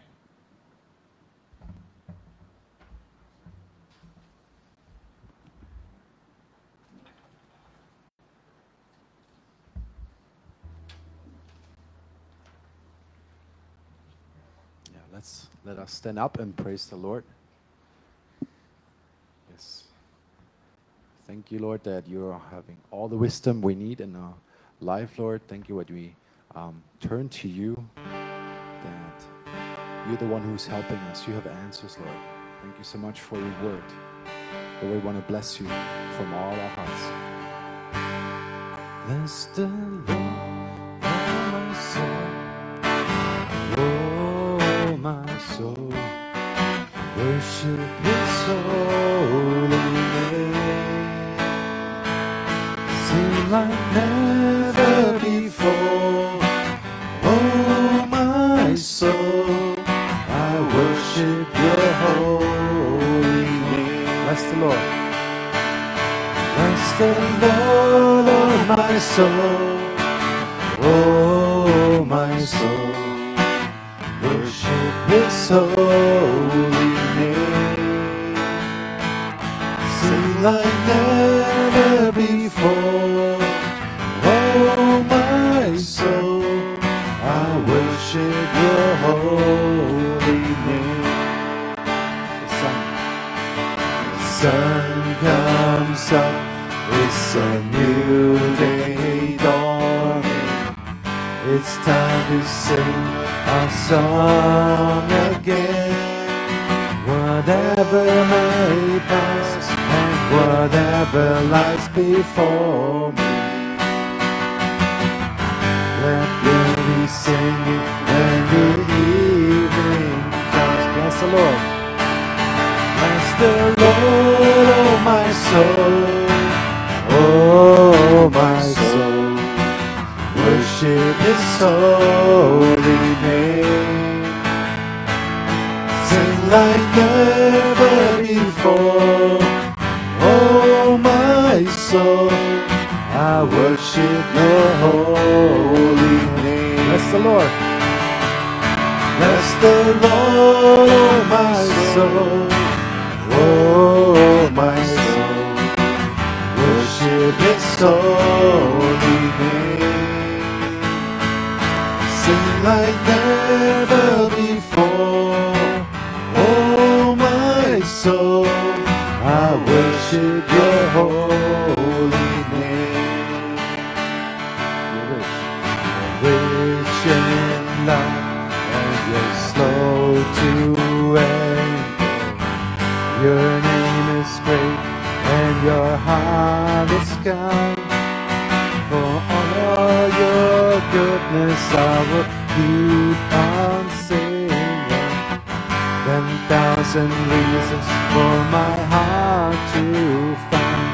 Let's let us stand up and praise the Lord. Yes. Thank you, Lord, that you are having all the wisdom we need in our life, Lord. Thank you that we um, turn to you, that you're the one who's helping us. You have answers, Lord. Thank you so much for your word. Lord, we want to bless you from all our hearts. Bless the Lord, oh my soul. Oh, my soul, worship His holy name. Sing like never before. Oh, my soul, I worship Your holy name. Bless the Lord. Bless the Lord, oh my soul. Oh, my soul, worship His holy name. Sing like never before. Oh, my soul, I worship your holy name. The sun, the sun comes up, it's a new day dawning. It's time to sing our song again. Whatever may pass and whatever lies before me, let me be singing when the evening comes. Bless the Lord. Bless the Lord, oh my soul, oh my soul. Worship His holy name. Sing like never before. Oh my soul, I worship your holy name. Bless the Lord. Bless the Lord, oh my soul, oh my soul. Worship His holy name. Sing like never before. Oh my soul, I worship your holy name. You're rich, you're rich in love, and you're slow to anger. Your name is great, and your heart is kind. For all your goodness, I will keep on singing. Ten thousand reasons for my heart to find.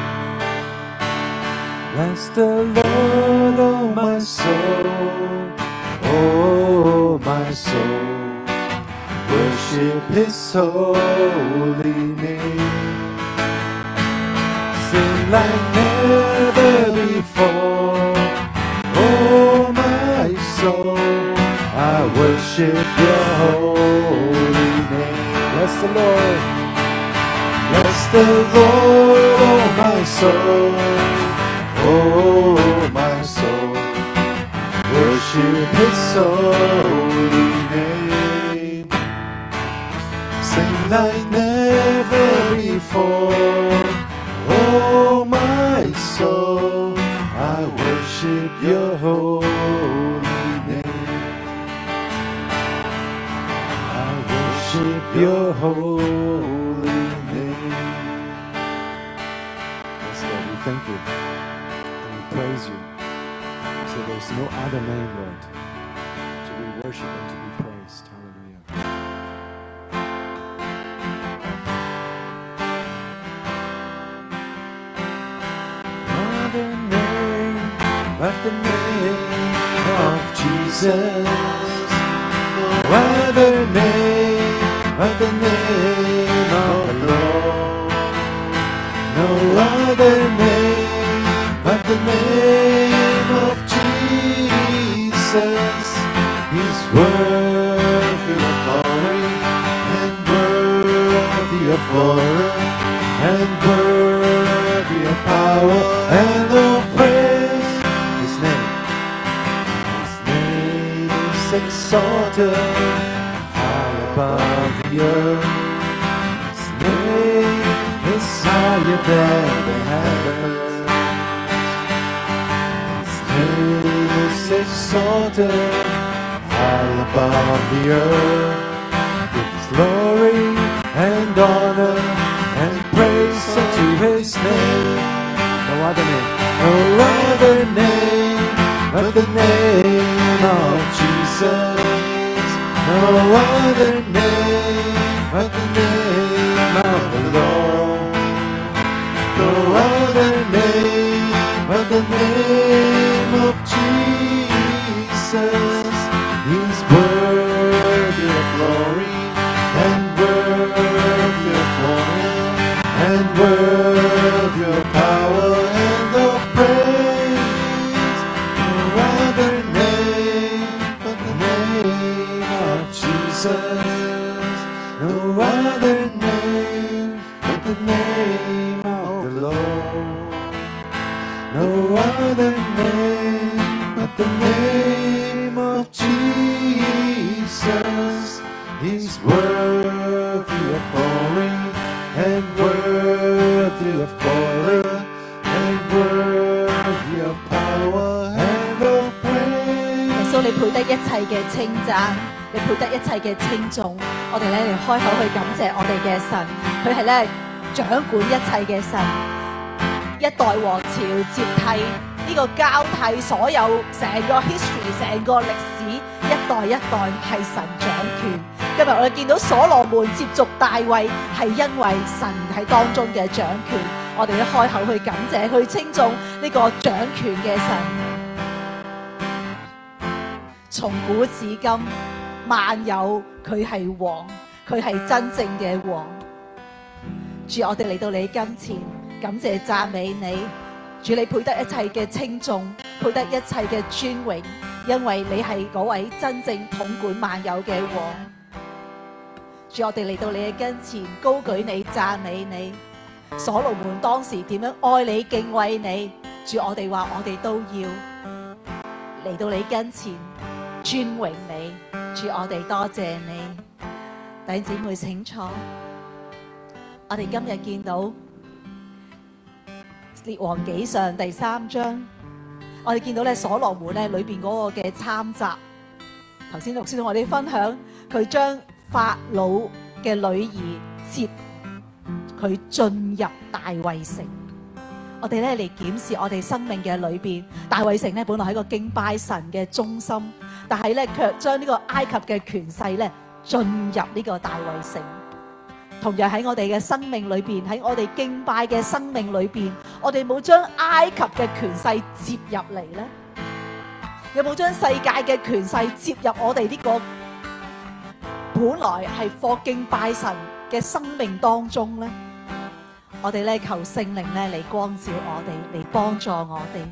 Bless the Lord, oh my soul, oh my soul. Worship His holy name. Sing like never before. Oh my soul, I worship your holy name. Bless the Lord. Bless the Lord, oh my soul, oh my soul. Worship His holy name. Sing like never before. Oh my soul, I worship your holy name. I worship your holy name. Yes, Lord, we thank you and we praise you. So there's no other name, Lord, to be worshipped and to be praised. Hallelujah. Other name, but the name of Jesus. No other name, but the name of the Lord. No other name, but the name of Jesus. He's worthy of glory and worthy of glory and worthy of power and of praise. His name, His name is exalted high above the earth. His name is higher than the heavens. His name is exalted high above the earth. Give His glory and honor and praise unto His name. No other name, no other name but the name of Jesus. No other name but the name of the Lord. No other name but the name of Jesus. He's worthy of glory and worthy of honor and worthy of power and of praise. No other name but the name of Jesus. name of the Lord. No other name but the name of Jesus. He's worthy of glory and worthy of glory and worthy of power and of praise. 耶穌，你配得一切嘅稱讚，你配得一切嘅稱頌。我哋咧嚟開口去感謝我哋嘅神，佢係咧掌管一切嘅神，一代王朝接替呢個交替所有成個 history 成個歷史，一代一代係神掌權。今日我哋見到所羅門接續大衛，係因為神喺當中嘅掌權。我哋一開口去感謝，去稱頌呢個掌權嘅神。從古至今，萬有佢係王，佢係真正嘅王。主，我哋嚟到你跟前，感謝讚美你。主，你配得一切嘅稱頌，配得一切嘅尊榮，因為你係嗰位真正統管萬有嘅王。主，我哋嚟到你嘅跟前，高舉你，讚美你。所羅門當時點樣愛你、敬畏你，主，我哋話我哋都要嚟到你跟前尊榮你。主，我哋多謝你。弟兄姊妹請坐。我哋今日見到列王紀上第三章，我哋見到咧所羅門咧裏邊嗰個嘅參雜。頭先牧師同我哋分享，佢將法老嘅女兒接佢進入大衛城。我哋咧嚟檢視我哋生命嘅裏邊，大衛城咧本來係一個敬拜神嘅中心，但係咧卻將呢個埃及嘅權勢咧進入呢個大衛城。同樣喺我哋嘅生命裏邊，喺我哋敬拜嘅生命裏邊，我哋冇將埃及嘅權勢接入嚟呢？有冇將世界嘅權勢接入我哋呢個本來係課敬拜神嘅生命當中呢？我哋咧求聖靈咧嚟光照我哋，嚟幫助我哋。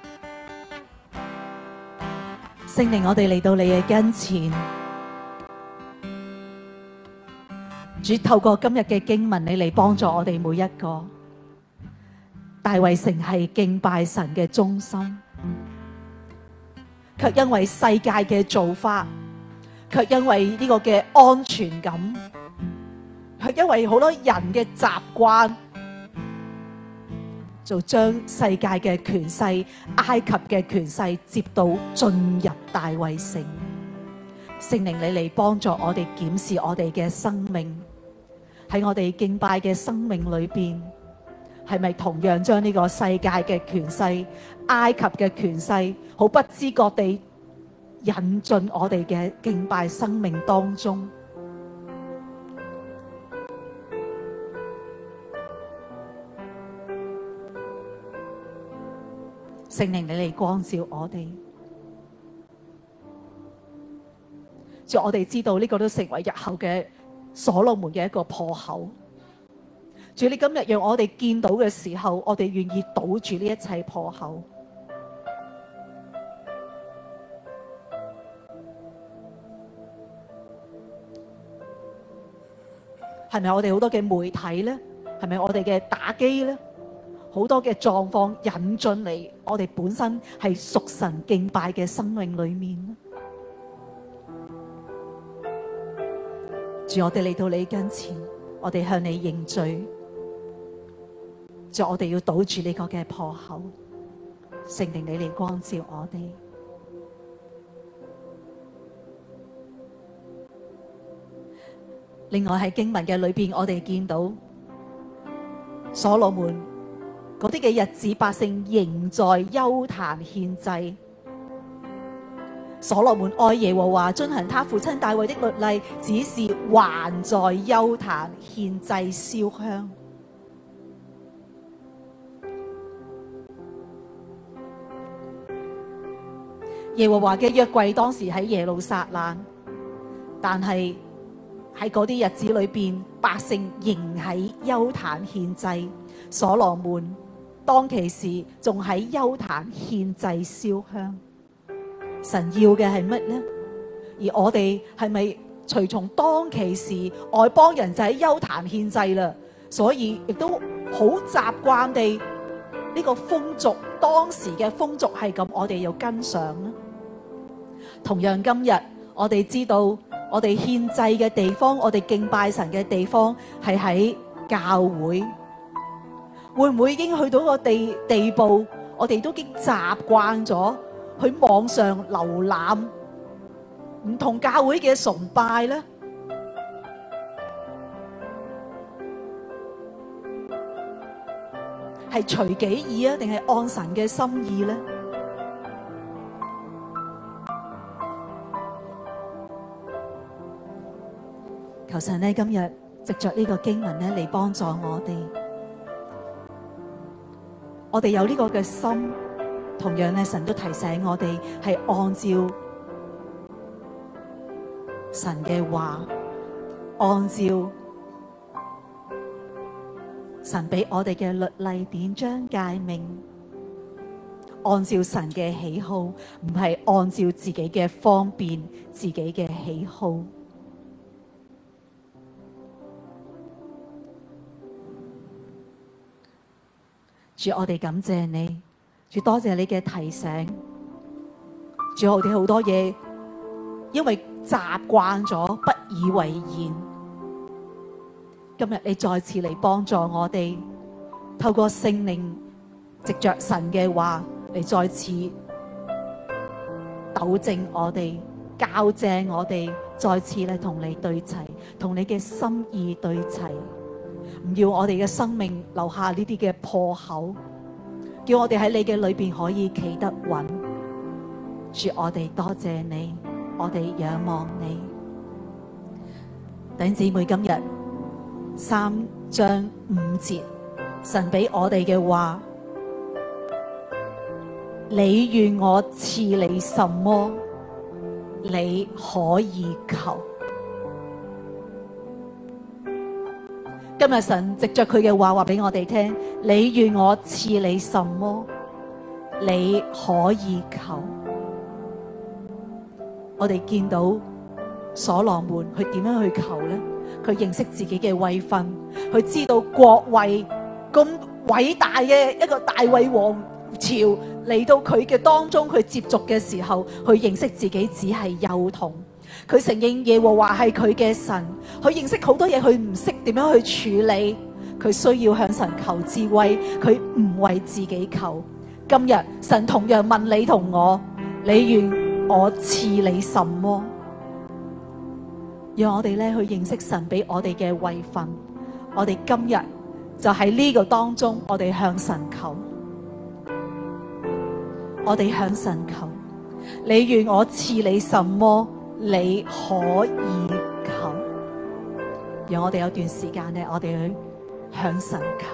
聖靈，我哋嚟到你嘅跟前。主，透過今日嘅經文，你嚟幫助我哋每一個。大衛城係敬拜神嘅中心，卻因為世界嘅做法，卻因為呢個嘅安全感，卻因為好多人嘅習慣，就將世界嘅權勢、埃及嘅權勢接到進入大衛城。聖靈，你嚟幫助我哋檢視我哋嘅生命。喺我哋敬拜嘅生命裏邊，係咪同樣將呢個世界嘅權勢、埃及嘅權勢，好不知覺地引進我哋嘅敬拜生命當中？聖靈，你嚟光照我哋。主，我哋知道呢個都成為日後嘅所羅門嘅一個破口。主，你今日讓我哋見到嘅時候，我哋願意堵住呢一切破口。係咪我哋好多嘅媒體呢？係咪我哋嘅打機呢？好多嘅狀況引進嚟我哋本身係屬神敬拜嘅生命裏面呢？主，我哋嚟到你跟前，我哋向你認罪。主，我哋要堵住呢個嘅破口。聖靈，你嚟光照我哋。另外喺經文嘅裏邊，我哋見到所羅門嗰啲嘅日子，百姓仍在邱壇獻祭。所羅門愛耶和華，遵行他父親大衛的律例，只是還在邱壇獻祭燒香。耶和華嘅約櫃當時喺耶路撒冷，但係喺嗰啲日子裏邊，百姓仍喺邱壇獻祭。所羅門當其時仲喺邱壇獻祭燒香。神要嘅係乜呢？而我哋係咪隨從當其時外邦人就喺邱壇獻祭啦？ 所以亦都好習慣地呢個風俗，當時嘅風俗係咁，我哋要跟上啦。同樣今日我哋知道，我哋獻祭嘅地方，我哋敬拜神嘅地方係喺教會，會唔會已經去到個地地步，我哋都已經習慣咗去網上瀏覽唔同教會嘅崇拜呢？係隨己意啊，定係按神嘅心意呢？求神呢，今日藉着呢個經文呢嚟幫助我哋，我哋有呢個嘅心，同樣呢，神都提醒我哋係按照神嘅話，按照神俾我哋嘅律例典章誡命，按照神嘅喜好，唔係按照自己嘅方便、自己嘅喜好。主，我哋感謝你，主，多謝你嘅提醒。主，我哋好多嘢因為習慣咗，不以為然。今日你再次嚟幫助我哋，透過聖靈，藉着神嘅話嚟再次糾正我哋，校正我哋，再次嚟同你對齊，同你嘅心意對齊。唔要我哋嘅生命留下呢啲嘅破口，叫我哋喺你嘅裏邊可以企得穩。主，我哋多謝你，我哋仰望你。弟兄姊妹，今日三章五節，神俾我哋嘅話，你願我賜你什麼，你可以求。今日神藉着佢嘅話話俾我哋聽，你願我賜你什麼，你可以求。我哋見到所羅門佢點樣去求呢？佢認識自己嘅位份，佢知道國位咁偉大嘅一個大衛王朝嚟到佢嘅當中，佢接觸嘅時候，佢認識自己只係幼童。佢承認耶和華係佢嘅神，佢認識好多嘢，佢唔識點樣去處理，佢需要向神求智慧，佢唔為自己求。今日神同樣問你同我，你願我賜你什麼？讓我哋咧去認識神俾我哋嘅位份，我哋今日就喺呢個當中，我哋向神求，我哋向神求，你願我賜你什麼？你可以求。讓我哋有段時間咧，我哋去向神求。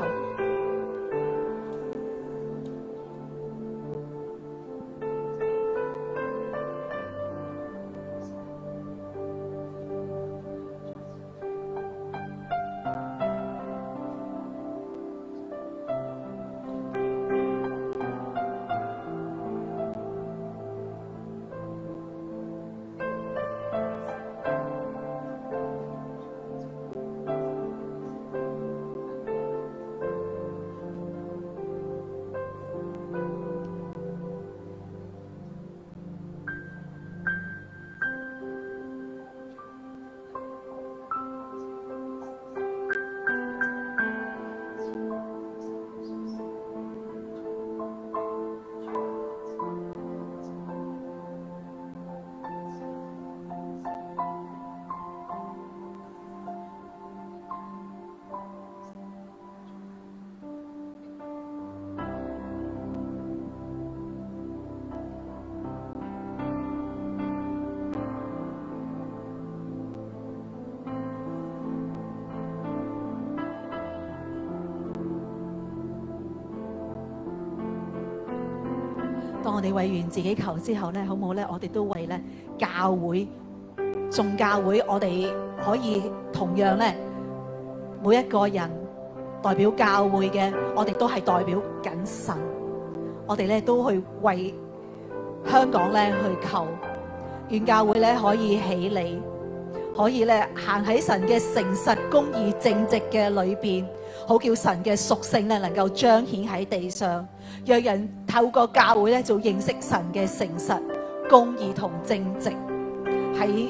當我哋為完自己求之後咧，好唔好咧？我哋都為咧教會、眾教會，我哋可以同樣咧，每一個人代表教會嘅，我哋都係代表緊神。我哋咧都去為香港咧去求，願教會咧可以起嚟， 可以咧行喺神嘅誠實、公義、正直嘅裏邊，好叫神嘅屬性咧能夠彰顯喺地上，讓人透過教會咧就認識神嘅誠實、公義同正直。喺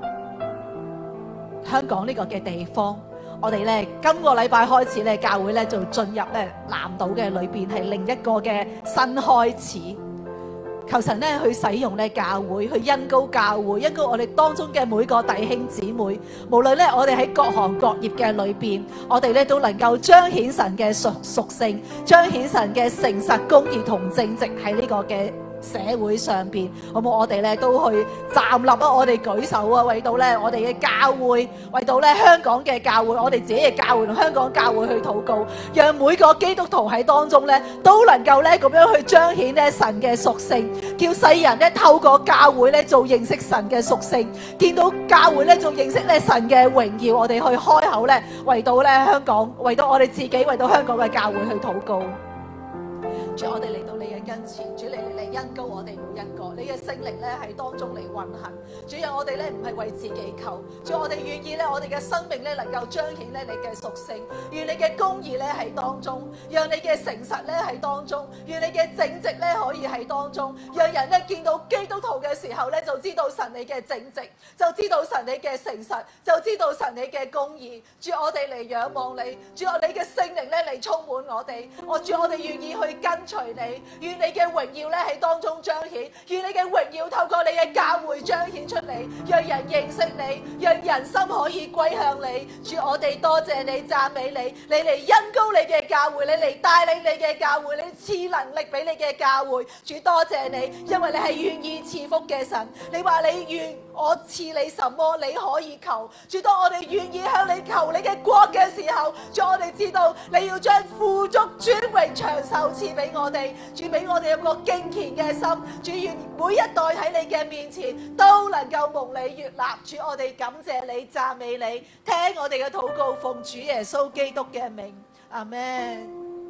香港呢個嘅地方，我哋咧今個禮拜開始咧，教會咧就進入咧南島嘅裏邊，係另一個嘅新開始。求神咧去使用咧教會，去恩膏教會，恩膏我哋當中嘅每個弟兄姊妹，無論咧我哋喺各行各業嘅裏邊，我哋咧都能夠彰顯神嘅屬屬性，彰顯神嘅誠實、公義同正直喺呢個嘅社會上邊，好冇？我哋咧都去站立啊！我哋舉手啊！為到咧我哋嘅教會，為到咧香港嘅教會，我哋自己嘅教會同香港教會去禱告，讓每個基督徒喺當中咧都能夠咧咁樣去彰顯咧神嘅屬性，叫世人咧透過教會咧做認識神嘅屬性，見到教會咧做認識咧神嘅榮耀，我哋去開口咧為到咧香港，為到我哋自己，為到香港嘅教會去禱告。主，我哋嚟到你嘅跟前，主你嚟嚟恩膏我哋每一個，你嘅聖靈咧喺當中嚟運行。主，讓我哋咧唔係為自己求，主我哋願意咧，我哋嘅生命咧能夠彰顯咧你嘅屬性，願你嘅公義咧喺當中，讓你嘅誠實咧喺當中，願你嘅正直咧可以喺當中，讓人咧見到基督徒嘅時候咧就知道神你嘅正直，就知道神你嘅誠實，就知道神你嘅公義。主，我哋嚟仰望你，主我你嘅聖靈咧嚟充滿我哋，我主我哋願意去跟隨你，願你嘅榮耀咧喺當中彰顯，願你嘅榮耀透過你嘅教會彰顯出嚟，讓人認識你，讓人心可以歸向你。主，我哋多謝你，讚美你，你嚟恩膏你嘅教會，你嚟帶領你嘅教會，你賜能力俾你嘅教會。主，多謝你，因為你係願意賜福嘅神，你話你願我賜你什麼你可以求。主，當我哋願意向你求你嘅國嘅時候，主，我哋知道你要將富足、尊榮、長壽賜俾我哋。主，俾我哋有個敬虔嘅心，主，願每一代喺你嘅面前都能夠蒙你悅納。主，我哋感謝你，讚美你，聽我哋嘅禱告，奉主耶穌基督嘅名，阿們。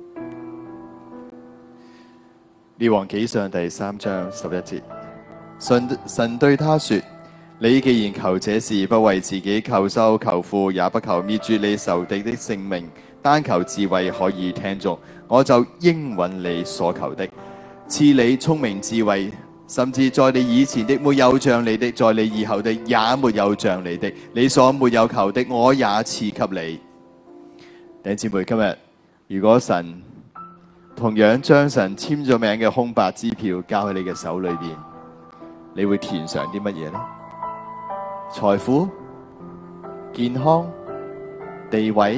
列王紀上第三章十一節，神神對他說：你既然求這事，不為自己求壽求富，也不求滅絕你仇敵的性命，單求智慧可以聽從，我就應允你所求的，賜你聰明智慧，甚至在你以前的沒有像你的，在你以後的也沒有像你的，你所沒有求的，我也賜給你。弟兄姊妹，今日如果神同樣將神簽咗名嘅空白支票交喺你嘅手裏邊，你會填上啲乜嘢呢？財富、健康、地位、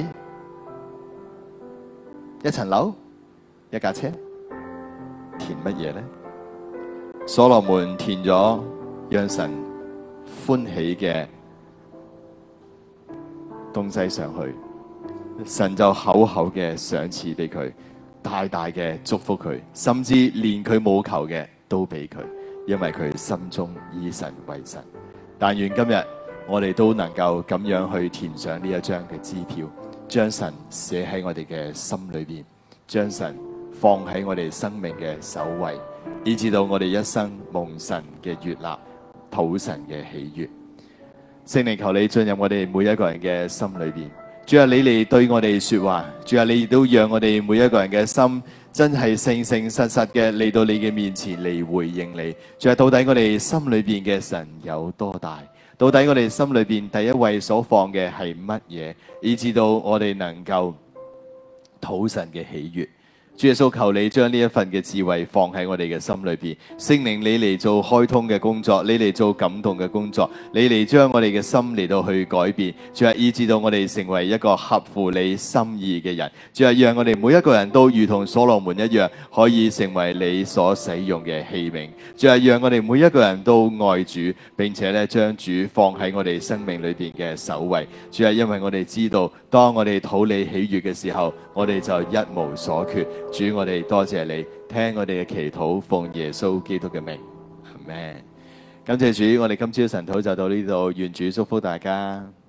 一層樓、一架車，填乜嘢呢？所羅門填咗讓神歡喜嘅東西上去，神就厚厚嘅賞賜俾佢，大大嘅祝福佢，甚至連佢冇求嘅都俾佢，因為佢心中以神為神。但願今日我哋都能夠咁樣去填上呢一張嘅支票，將神寫喺我哋嘅心裏邊，將神放喺我哋生命嘅首位，以至到我哋一生蒙神嘅悅納，討神嘅喜悅。聖靈，求你進入我哋每一個人嘅心裏邊。主啊，你嚟對我哋說話。主啊，你亦都讓我哋每一個人嘅心真係誠誠實實嘅嚟到你嘅面前嚟回應你。主啊，到底我哋心裏邊嘅神有多大？到底我哋心裏邊第一位所放嘅係乜嘢？以至到我哋能夠討神嘅喜悅。主耶穌，求你將呢一份嘅智慧放喺我哋嘅心裏邊，聖靈你嚟做開通嘅工作，你嚟做感動嘅工作，你嚟將我哋嘅心嚟到去改變，主啊，以致到我哋成為一個合乎你心意嘅人，主啊，讓我哋每一個人都如同所羅門一樣，可以成為你所使用嘅器皿，主啊，讓我哋每一個人都愛主，並且咧將主放喺我哋生命裏邊嘅首位，主啊，因為我哋知道，當我哋討你喜悅嘅時候，我哋就一無所缺。主，我哋多謝你，聽我哋嘅祈禱，奉耶穌基督嘅名，阿們。感謝主，我哋今朝晨禱就到呢度，願主祝福大家。